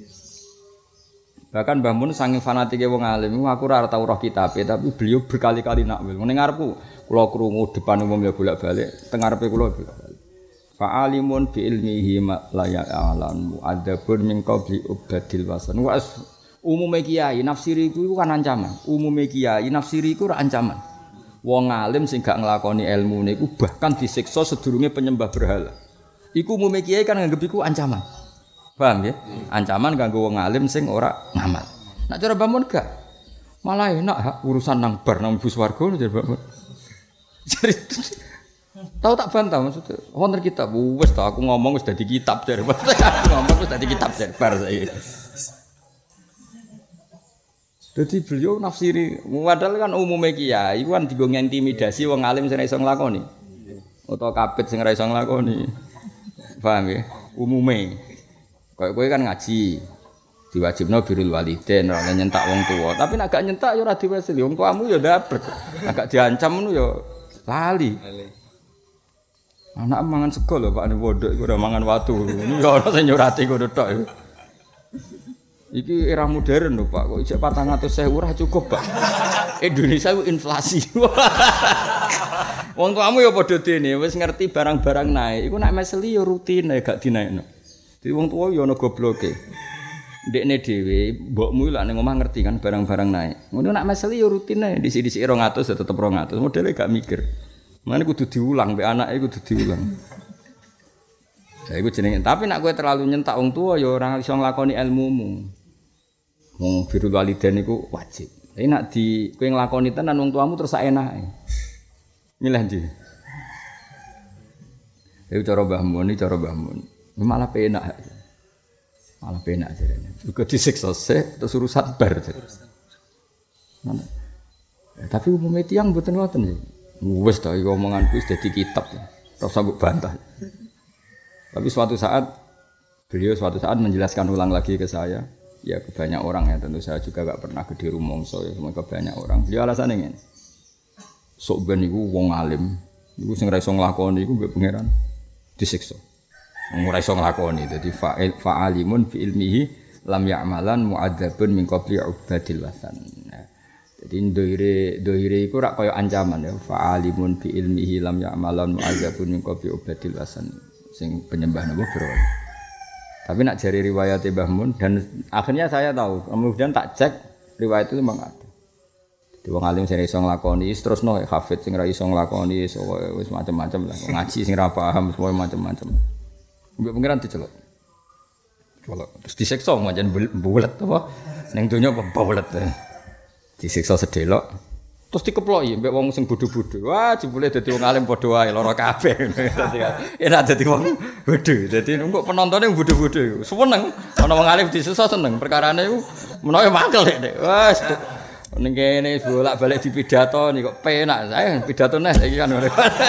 [SPEAKER 2] Bahkan Mbah Mun saking fanatike wong alim, aku ora tau roh kitabe, tapi beliau berkali-kali nakwil. Ning ngarepku kula krungu depan umum ya bolak-balik, teng ngarepe kula bolak-balik. Fa'alimun bi ilmihi la ya'lamu adabun min qabli ubadil wasan. Wa umume kiai nafsiri iku kan ancaman. Umume kiai nafsiri iku ora ancaman. Wong alim sing gak nglakoni ilmune iku bahkan disiksa sedurunge penyembah berhala. Iku umume kiai kan nganggep iku ancaman. Paham ya? Ancaman kanggo wong alim sing ora ngamal. Nek cara Mbah Mun gak malah enak urusan nang bar nang bus warga jar Mbah Mun. Tahu tak bantah maksudnya. Wonten kitab wis ta aku ngomong wis dadi kitab jar. Ngomong wis dadi kitab jar bar saiki. Dadi beliau nafsiri padahal kan umume kiai iku kan dienggo ngintimidasi wong alim sing ora iso nglakoni. Utawa kapit sing ora iso nglakoni. Paham ya? Umume. Kayak kowe kan ngaji. Diwajibno birrul walidain ora nyentak wong tuwa. Tapi nek gak nyentak ya ora diwasili. Wong tuamu ya ndabrek. Nek gak diancam ngono ya lali. Anak mangan sego lho Pak Pondok iku ora mangan watu. Ini ya ana sing nyurati ngono tok. Iki era modern lho Pak. Kok ijek 400.000 ora cukup, Pak. Indonesia ku inflasi. Wong tuamu ya padha dene wis ngerti barang-barang naik. Iku nek meseli ya rutine gak dinaikno. Dadi wong tuwa ya ana gobloke. Ndekne dhewe mbokmu lak ning omah ngerti kan barang-barang naik. Ngono nek meseli ya rutine disi-disi 200 ya tetep 200. Modele gak mikir. Mane kudu diulang, mbek anake kudu diulang. Ya iku jenenge. Tapi nek kowe terlalu nyentak wong tuwa ya ora iso nglakoni ilmumu. Wong birrul walidain iku wajib. Tapi nek di kowe nglakoni tenan wong tuamu terus sak enake. Milih ndi? Iku cara Mbah Mun, cara Mbah Mun. Malah penak. Malah penak jarene. Uga disiksa sik terus urusan bar. Tapi umumnya tiyang mboten ngoten ya. Wes ta iki omongan wis dadi kitab. Ora usah mbok bantah. Tapi suatu saat beliau menjelaskan ulang lagi ke saya. Ya ke banyak orang ya tentu saya juga gak pernah gede rumongso ya cuma ke banyak orang. Beliau alasannya ngene. Sok ben iku wong alim, iku sing ora iso nglakoni iku mbek pangeran disiksa. Wong ora iso nglakoni dadi fa'alimun fi ilmihi lam ya'malan mu'adzabun min qabli ubadil wasan. Jadi dohire iku rak kaya ancaman ya fa'alimun bi ilmihi lam ya'malan mu'adzabun min qabli ubadil wasan sing penyembah napa berhala. Tapi nak jari riwayat Mbah Mun dan akhirnya saya tahu kemudian tak cek riwayat itu memang ada. Jadi wong alim sing iso nglakoni terusno hafid sing ora iso nglakoni wis macam-macam lah ngaji sing ora paham semua macam-macam. Mbok pengiran diceluk. Celuk terus disiksa pancen bulet apa ning donya apa bulet. Disiksa sedelok terus dikeploki mbek wong sing bodho-bodho. Wah, jebule dadi wong alim padha wae lara kabeh. Dadi enak dadi wong bodho. Dadi kok penontone bodho-bodho. Seneng ana wong alim disiksa seneng. Perkarane iku menawa mangkel nek. Wes Ning kene bolak-balik di pidato nih kok penak. Saya pidato neh iki kan.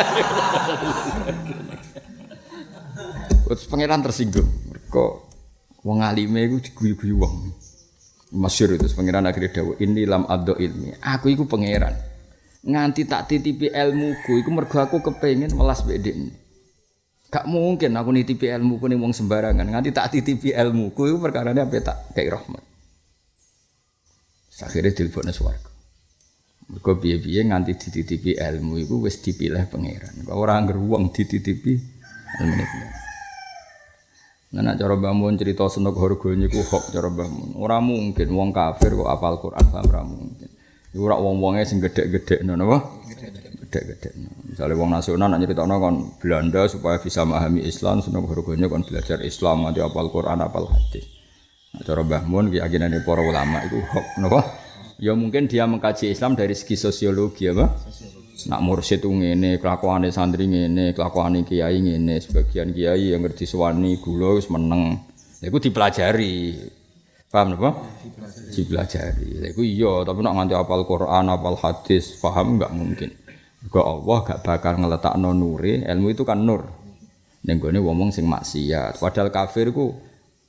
[SPEAKER 2] Terus pangeran tersinggung. Mergo wong alime iku diguyu-guyu wong. Masyhur itu pangeran akhirnya dawuh ini lam addo ilmi. Aku iku pangeran. Nganti tak titipi ilmuku iku mergo aku kepengin welas mbek dekne. Gak mungkin aku nitipi ilmuku ning wong sembarangan. Nganti tak titipi ilmuku iku perkarane ape tak kei rahmat. Akhirnya dilebokne swarga. Mergo piye-piye nganti dititipi ilmu iku wis dipilih pangeran. Ora ngger wong dititipi ilmu pangeran. Nah, cara Mbah Mun cerita seneng harga niku hok cara Mbah Mun. Ora mungkin wong kafir kok apal Quran paham ora mungkin. Iku ora wong-wonge sing gedhe-gedhekno napa? Gedhe-gedhekno. Misale wong nasional nak nyritakno kon Belanda supaya bisa memahami Islam, seneng harganya kon belajar Islam nganti apal Quran, apal hadis. Nah, cara Mbah Mun keyakinane para ulama iku hok napa? Ya mungkin dia mengkaji Islam dari segi sosiologi apa? Nak mursyid ngene, kelakuane santri ngene, kelakuane kiai ngene, sebagian kiai yang ngerti suwani gula wis meneng. Lha iku dipelajari. Paham napa? Dipelajari. Lha iku iya, tapi nak nganti hafal Quran, hafal hadis, paham enggak mungkin. Mergo Allah gak bakal ngeletakno nure, ilmu itu kan nur. Ning gone wong sing maksiat. Padahal kafir ku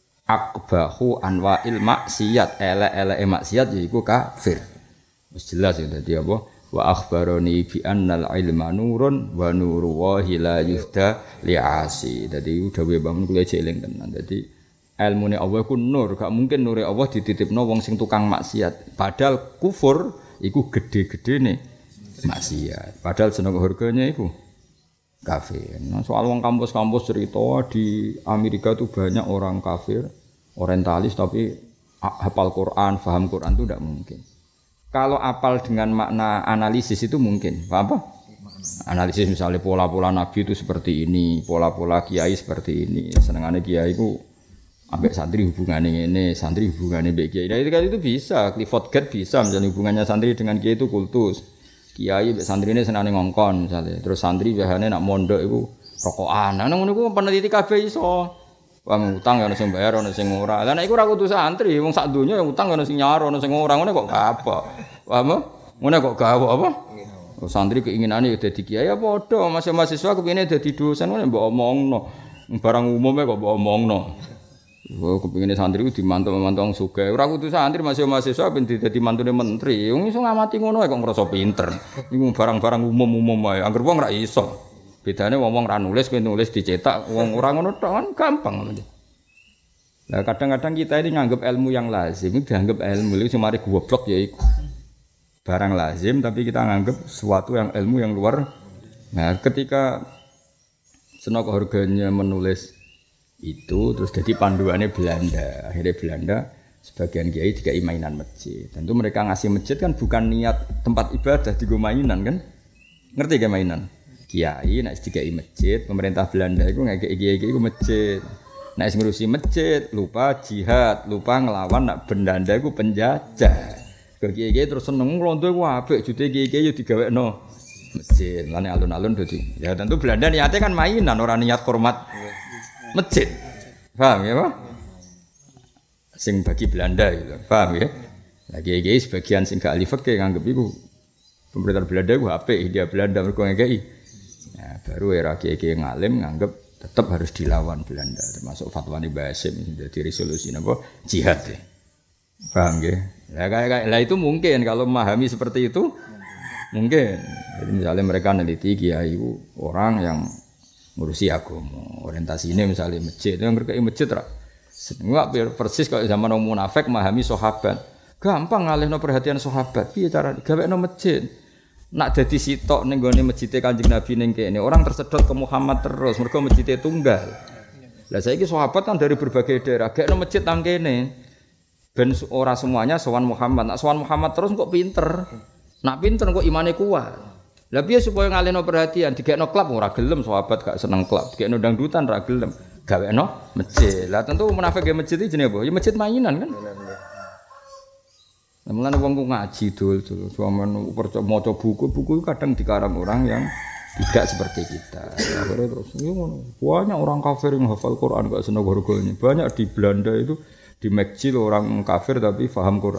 [SPEAKER 2] akbahu anwa'il maksiat, elek-eleke maksiat yaiku kafir. Wis jelas ya dadi apa? Wa akhbaroni bi annal ilma nurun wa nuru wahi la yuhda li'asi. Dadi dawuhe bangun kula eling tenan. Dadi ilmune Allah ku nur, gak mungkin nure Allah dititipno wong sing tukang maksiat. Padahal kufur iku gede-gedene maksiat. Padahal seneng harganya iku kafir. Nah, soal wong kampus-kampus cerita di Amerika tuh banyak orang kafir, orientalis tapi hafal Quran, paham Quran itu tidak mungkin. Kalau apal dengan makna analisis itu mungkin, apa? Analisis misalnya pola-pola Nabi itu seperti ini, pola-pola kiai seperti ini. Senengane kiai itu ambek santri hubungannya ini, santri hubungannya ambek kiai. Nah, itu bisa, Clifford Gate bisa misalnya hubungannya santri dengan kiai itu kultus. Kiai ambek santri ini senengane ngongkon misalnya. Terus santri biasanya nak mondok itu rokokan. Nah, ngono iku peneliti kabeh iso. Wong utang ya ono sing bayar ono sing ora. Lah nek iku ora kudu santri, wong sak donya yang utang ono sing nyaro ono sing ora. Ngene kok apa? Paham? Ngene kok gawe apa? Santri keinginane ya dadi kiai ya padha, mahasiswa kepengine dadi dosen ngene mbok omongno. Barang umume kok mbok omongno. Kepengine santri ku dimantu-mantu wong sugih. Ora kudu santri mahasiswa ben dadi mantune menteri. Wong iso ngamati ngono kok ngrasa pinter. Iku barang-barang umum-umum wae. Angger wong ora iso. Bedane wong ra nulis, kowe nulis dicetak, wong ora ngono tok kan gampang. Nah, kadang-kadang kita ini nganggap ilmu yang lazim, itu dianggap ilmu itu cuma goblok ya iku. Barang lazim tapi kita nganggap sesuatu yang ilmu yang luar. Nah, ketika Senok harganya menulis itu terus jadi panduannya Belanda. Akhirnya Belanda sebagian kiai dikai mainan masjid. Tentu mereka ngasih masjid kan bukan niat tempat ibadah digo mainan kan? Ngerti gak mainan? Kiai nek dikai masjid, pemerintah Belanda itu ngekei kiai iku masjid. Nek ngurusi masjid, lupa jihad, lupa ngelawan nak Belanda iku penjajah. Kiai-kiai terus seneng nglondo iku apik, jute kiai-kiai yo digawekno masjid. Lane alun-alun dadi. Ya tentu Belanda niate kan mainan, ora niat hormat masjid. Paham ya, Pak? Sing bagi Belanda gitu. Paham ya? Lah kiai-kiai sebagian sing gak ahli fikih nganggep iku pemerintah Belanda iku apik, dia Belanda mergo ngekei. Ya, baru era kiai-kiai ngalim nganggep tetap harus dilawan Belanda, termasuk fatwa Mbah Hasyim jadi resolusi napa jihad. Ya. Paham nggih? Lah itu mungkin kalau memahami seperti itu mungkin. Jadi misalnya mereka neliti kiai itu orang yang ngurusi agama, orientasi ini misalnya masjid, yang berkait masjid ra. Enggak persis kalau zaman orang munafik memahami sahabat. Gampang ngalihno perhatian sahabat. Piye cara gawekno masjid? Nak dadi sitok ning gone masjid Kanjeng Nabi ning kene, orang tersedot ke Muhammad terus, mergo masjid tunggal. Lah saiki sahabat kan dari berbagai daerah, gekno masjid nang kene. Ben ora semuanya sowan Muhammad. Nak sowan Muhammad terus kok pinter. Nak pinter kok imane kuat. Lah piye supaya ngalihno perhatian, digekno klub ora gelem sahabat gak seneng klub, digekno dangdutan ora gelem. Gawekno masjid. Lah tentu munafik ge masjid iki jenenge apa? Ya masjid mainan kan. Mulane wong ku ngaji dul-dul, sampeyan maca buku kadang dikarang orang yang tidak seperti kita. Akhirnya terus ngono. Banyak orang kafir yang hafal Quran gak seneng harganya. Banyak di Belanda itu di masjid orang kafir tapi paham Quran.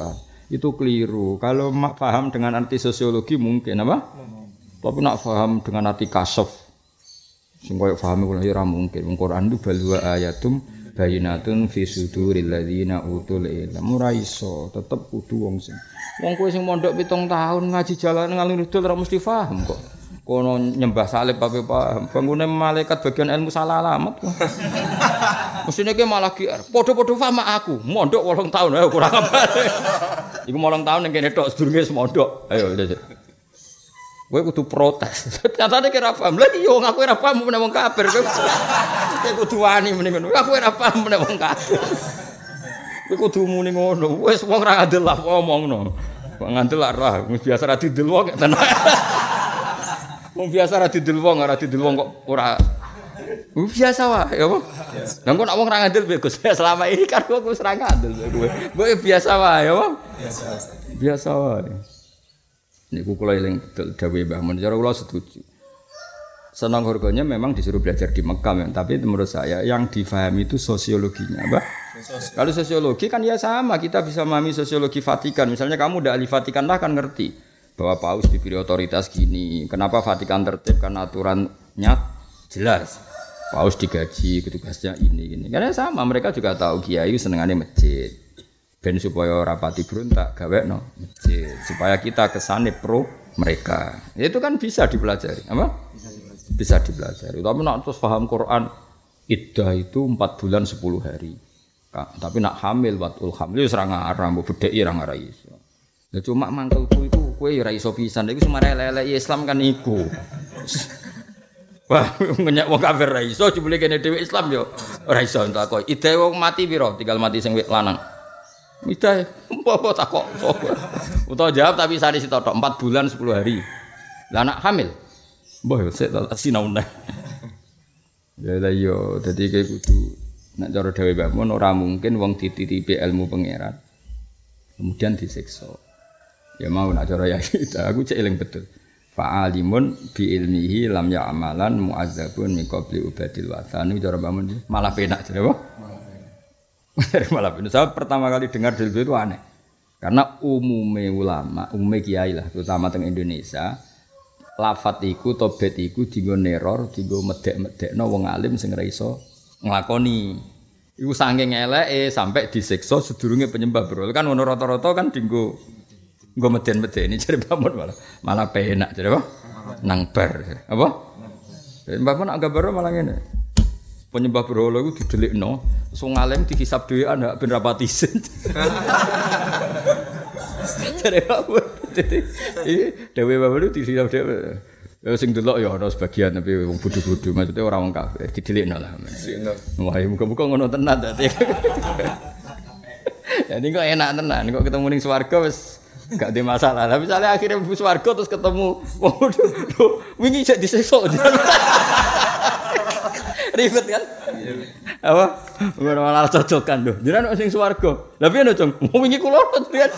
[SPEAKER 2] Itu keliru. Kalau paham dengan arti sosiologi mungkin apa? Tapi nak paham dengan arti kasaf, sing koyo paham kula ora mungkin. Wong Quran itu balwa ayatum bayinatun fi suduril ladzina utul ilm. Ora iso, tetep kudu wong sing. Wong kowe sing mondok 7 tahun ngaji jalan ngalih dul ora mesti paham kok. Kono nyembah salib apa paham. Bangune malaikat bagian ilmu salah alamat kok. Mesine ki malah GR. Padha-padha paham aku. Mondok 8 tahun ayo kurang apa. Iku 8 tahun ning kene tok sedurunge mondok. Ayo. Kowe kudu protes. Nyatane kira paham. Lah iya wong aku ora paham meneh wong kafir. Kowe kudu wani meneh ngono. Aku ora paham meneh wong kafir. Kowe kudu muni ngono. Wis wong ra ngandel lah ngomongno. Kok ngandel lah biasa ra didel wong tenan. Wong biasa ra didel wong, ora didel wong kok ora. Biasa wae ya apa? Lah kok nek wong ra ngandel Gus. Selama ini kan aku wis ra ngandel kowe. Kowe biasa wae ya apa? Biasa wae. Niku kula eling betul dawuhe Mbah Mun. Cara kula setuju. Senang harganya memang disuruh belajar di Mekah, tapi menurut saya yang difahami itu sosiologinya, Mbah. Kalau sosiologi kan ya sama, kita bisa memahami sosiologi Vatikan. Misalnya kamu udah ahli Vatikan lah kan ngerti bahwa Paus diberi otoritas gini. Kenapa Vatikan tertib? Karena aturannya jelas. Paus digaji, petugasnya ini gini. Karena sama, mereka juga tahu kiai senengannya masjid. Ben supaya rapati berontak gawe no masjid supaya kita kesane pro mereka. Itu kan bisa dipelajari, apa? Bisa dipelajari. Tapi nak terus paham Quran iddah itu 4 bulan 10 hari. Tapi nak hamil watul hamil wis ra ngarang mbok bedheki ra ngara iso. Ya cuma mangkelku iku kowe ya ra iso pisan. Iku semare elek Islam kan iku. Wah, ngenyak wong kafir ra iso jebule kene dhewe Islam yo ora iso takok. Iddah wong mati piro? Tinggal mati sing lanang. Midah, apa takok. Utawa jawab tapi sari sitotok 4 bulan 10 hari. Lah anak hamil. Mbah sik tak sinau neh. Ya lah yo dadi kowe kudu nek cara dhewe Mbah Mun ora mungkin wong dititipi ilmu pangeran kemudian disiksa. Ya mau nek cara ya aku cek eling betul. Fa'alimun bi ilmihi lam ya'malan mu'azzabun min qabli ubadil wathan. Cara Mbah Mun malah penak jare apa? Malah benar. Saya pertama kali dengar dari itu aneh. Karena umumnya ulama, umumnya kiai lah, terutama teng Indonesia, lafat iku, tobet iku, digo neror, digo medek-medek, no wong alim sing ra iso nglakoni. Iku saking eleke sampai disiksa sedurunge penyembah bro. Kan ono rata-rata kan dienggo meden-medeni jare Mbah malah penak jare apa? Nang bar. Apa? Mbah Mun nak gambar malah ngene. Penyembah berhala iku didelikno, wong alim dihisab dhewean hak ben rapati isin. Jare apa? Iki dhewe bae dihisab dhewe. Ya sing delok ya ana sebagian tapi wong bodho-bodho maksudnya ora wong kafir didelikno lah. Wah, muga-muga ngono tenan dadi. Jadi kok enak tenan, kok ketemu ning swarga wis gak ada masalah. Tapi misalnya akhirnya mlebu swarga terus ketemu wingi jek disiksa. Ribet kan? Apa? Ora malah cocokan lho. Jenengan sing swarga. Lah piye no, Cung? Wingi kula lihat.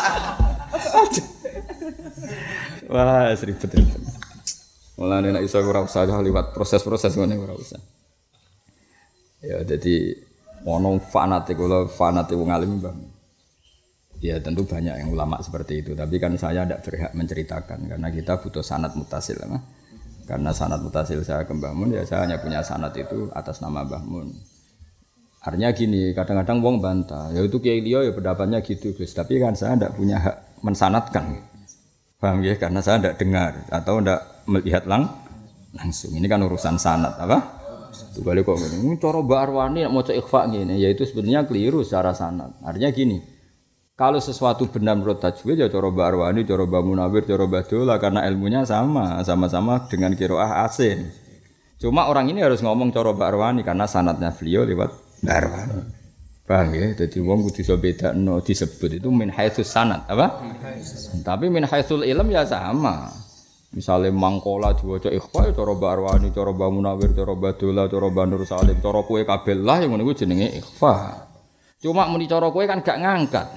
[SPEAKER 2] Wah, ribet. Mulane nek iso ora usah liwat proses-proses ngene ora usah. Ya dadi ono fanatik kula fanatik wong alim, Bang. Ya tentu banyak yang ulama seperti itu, tapi kan saya tidak berhak menceritakan karena kita butuh sanad mutasil. Karena sanad mutasil saya ke Mbah Mun, ya saya hanya punya sanad itu atas nama Mbah Mun. Artinya gini, kadang-kadang wong bantah, ya itu kiai liya ya pendapatnya gitu Gus, tapi kan saya tidak punya hak mensanadkan. Paham ya? Karena saya tidak dengar atau tidak melihat langsung. Ini kan urusan sanad apa? Itu balik kok ngene. Cara Mbak Arwani nek maca ikhfa ngene, ya itu sebenarnya keliru secara sanad. Artinya gini, kalau sesuatu benar menurut tajwid ya cara Mbak Arwani, cara Mbak Munawir, cara Mbak Dola karena ilmunya sama-sama dengan qiraah asin. Cuma orang ini harus ngomong cara Mbak Arwani karena sanadnya beliau lewat Mbak Arwani. Paham ya? Jadi wong kudu iso bedakno disebut itu min haitsus sanad, apa? Tapi min haitsul ilm ya sama. Misalnya mangkola diwaca ikhfa cara Mbak Arwani, cara Mbak Munawir, cara Mbak Dola, cara Mbak Nur Salim, cara kowe kabeh lah yang ngono iku jenenge ikhfa. Cuma muni cara kowe kan gak ngangkat.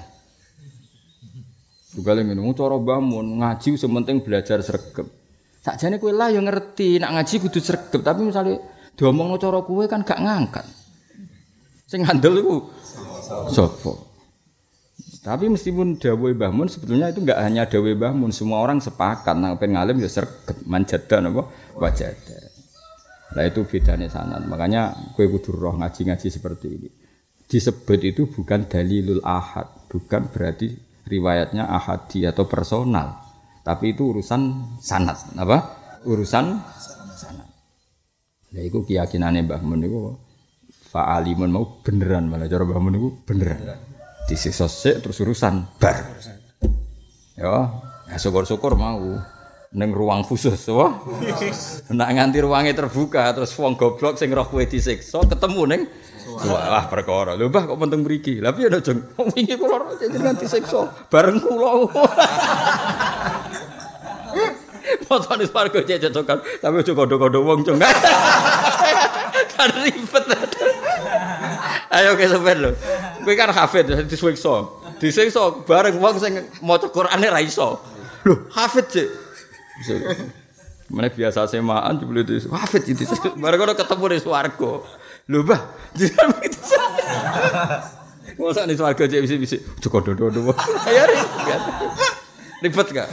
[SPEAKER 2] Juga lagi ngomong cara bangun ngaji sementing belajar sregep. Sakjane kowe lah yo ngerti nak ngaji kudu sregep, tapi misalnya diomongno cara kowe kan gak ngangkat. Sing ngandel iku sapa? Tapi meskipun dawuh Mbah Mun sebetulnya itu enggak hanya dawuh Mbah Mun, semua orang sepakat nang pengen ngalim ya sregep manjada napa wajada. Lah itu bedanya sanad. Makanya kowe kudu roh ngaji-ngaji seperti ini. Disebut itu bukan dalilul ahad, bukan berarti riwayatnya ahadi atau personal. Tapi itu urusan sanad, apa? Urusan sanad. Lah iku keyakinane Mbah Mun niku fa'alimun mau beneran malah cara Mbah Mun niku beneran. Disiksa sik terus urusan bar. Ya syukur-syukur mau ning ruang khusus wae. Nek nganti ruange terbuka terus wong goblok sing roh kowe disiksa ketemu ning wah perkara. Lho Mbah kok penting mriki. Lah piye to, Jeng? Wong wingi kula jenengan disiksa bareng kula. Potone swarga cececokan, tapi aja kondo-kondo wong, Jeng. Kan ribet. Ayo ke sampean lho. Kowe kan hafid disiksa. Disiksa bareng wong sing maca Qur'ane ra iso. Lho, hafid sih. Mana biasa semaan jebule itu hafid itu. Bareng ketemu di swarga. Lho, Mbah, jenengan begitu. Mosok di swarga cek bisi-bisi. Aja kondo-kondo. Ya ribet gak?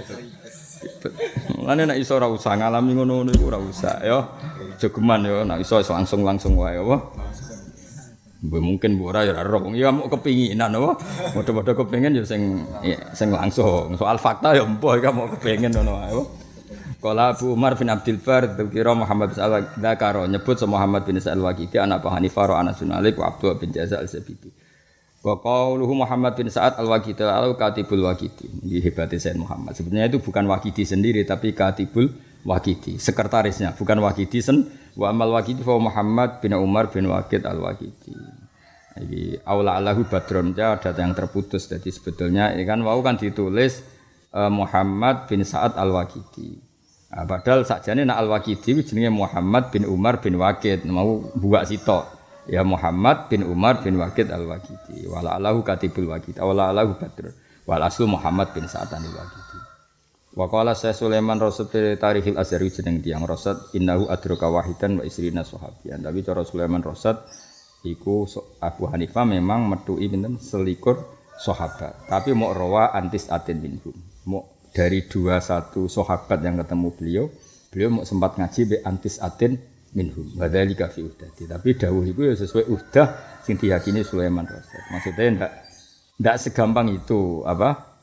[SPEAKER 2] Mulane nek iso ora usah ngalami ngono-ngono iku ora usah ya. Jogeman ya nek iso langsung wae apa. Mungkin ora ya ora ya mau kepinginan apa. Padha-padha kepengin ya sing langsung. Soal fakta ya empuh iki mau kepengin ngono wae. Qala Abu Umar bin Abdul Bar dzikra Muhammad bin Al-Dzakaro nyebut Muhammad bin Al-Waqidi anak Abu Hanifah wa Anas bin Malik wa Abdullah bin Jazal al-Zabidi. Wa qauluhu Muhammad bin Sa'ad al-Waqidi al-Katibul Waqidi. Ini hebatnya Sayyid Muhammad. Sebenarnya itu bukan Waqidi sendiri tapi Katibul Waqidi, sekretarisnya, bukan Waqidi wa amal Waqidi fa Muhammad bin Umar bin Waqid al-Waqidi. Iki aula Allahu badron ada yang terputus. Jadi sebetulnya ini kan wau kan ditulis Muhammad bin Sa'ad al-Waqidi. Nah, padahal sakjane nak al-Waqidi jenenge Muhammad bin Umar bin Waqid, mau buak sitok. Ya Muhammad bin Umar bin Waqid al-Waqidi. Wala Allahu katibul Waqidi. Wala Allahu badr. Wal aslu Muhammad bin Sa'ad al-Waqidi. Wa qala Syekh Sulaiman Rasad Tarikhil Azhari jeneng tiyang Rasad innahu adraka wahidan wa isrina sahabiyan. Tapi cara Sulaiman Rasad iku Abu Hanifah memang metuki pinten 21 sahabat. Tapi mau rawa antis atin minhum. Mau dari 21 sahabat yang ketemu beliau mau sempat ngaji be antis atin minhum. Wadzalika fi uhdati. Tapi dawuh iku ya sesuai uhdah sing diyakini Sulaiman Rasad. Maksudnya ndak segampang itu apa?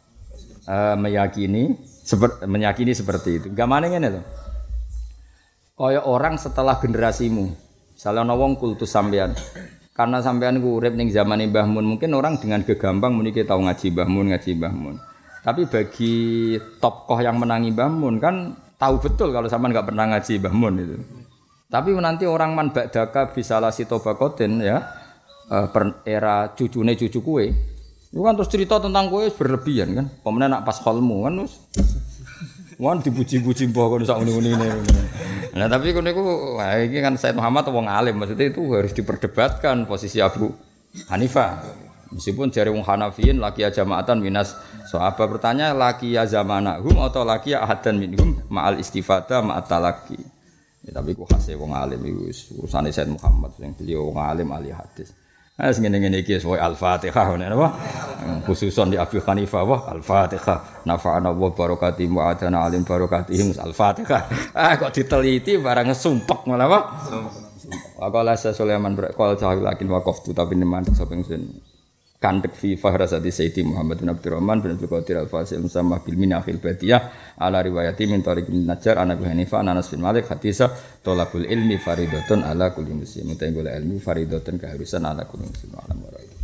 [SPEAKER 2] Meyakini seperti itu. Gamane ngene lho. Kaya orang setelah generasimu. Misalnya ana wong kultus sampean. Karena sampean ku urip ning zamane Mbah Mun, mungkin orang dengan gegampang muni tau ngaji Mbah Mun. Tapi bagi tokoh yang menangi Mbah Mun kan tahu betul kalau sampean enggak pernah ngaji Mbah Mun itu. Tapi nanti orang man ba'daka bisalah sitobakotin ya era cucune cucu kue. Itu kan terus cerita tentang kue berlebihan kan. Pemenang nak pas holmu kan terus. Wan dipuji-puji mbah kon sak ngene-ngene. Nah tapi kon niku iki kan Said Muhammad wong alim, maksudnya itu harus diperdebatkan posisi Abu Hanifah. Meskipun jare wong Hanafiyin laki jamaatan minas sahabat bertanya laki ya zamanahum atau laki ya ahadan minhum ma'al istifada ma'at talaqi. Ya, tapi ku khase wong alim iku urusane Said Muhammad sing beliau wong alim ahli hadis. Ah ngene-ngene iki wae Al-Fatihah ngono apa? Khususon di Abu Hanifah wah Al-Fatihah. Nafa'ana wa barakati mu'adana alim barakatihim Al-Fatihah. Ah kok diteliti barang sumpek malah apa? Waqala Sulaiman berqal cahil lakin waqaftu tapi neman sapa ingsun. Kandek fi fahrasati Sayyidi Muhammad bin Abdurrahman bin Abdul Qadir Al-Fasil musamma bil minahil badiyah ala riwayati min tariq bin Najjar ana Abu Hanifah Anas bin Malik hadisa talabul ilmi faridatun ala kulli muslim. Mutai golek ilmu faridatun keharusan ala kulli muslim.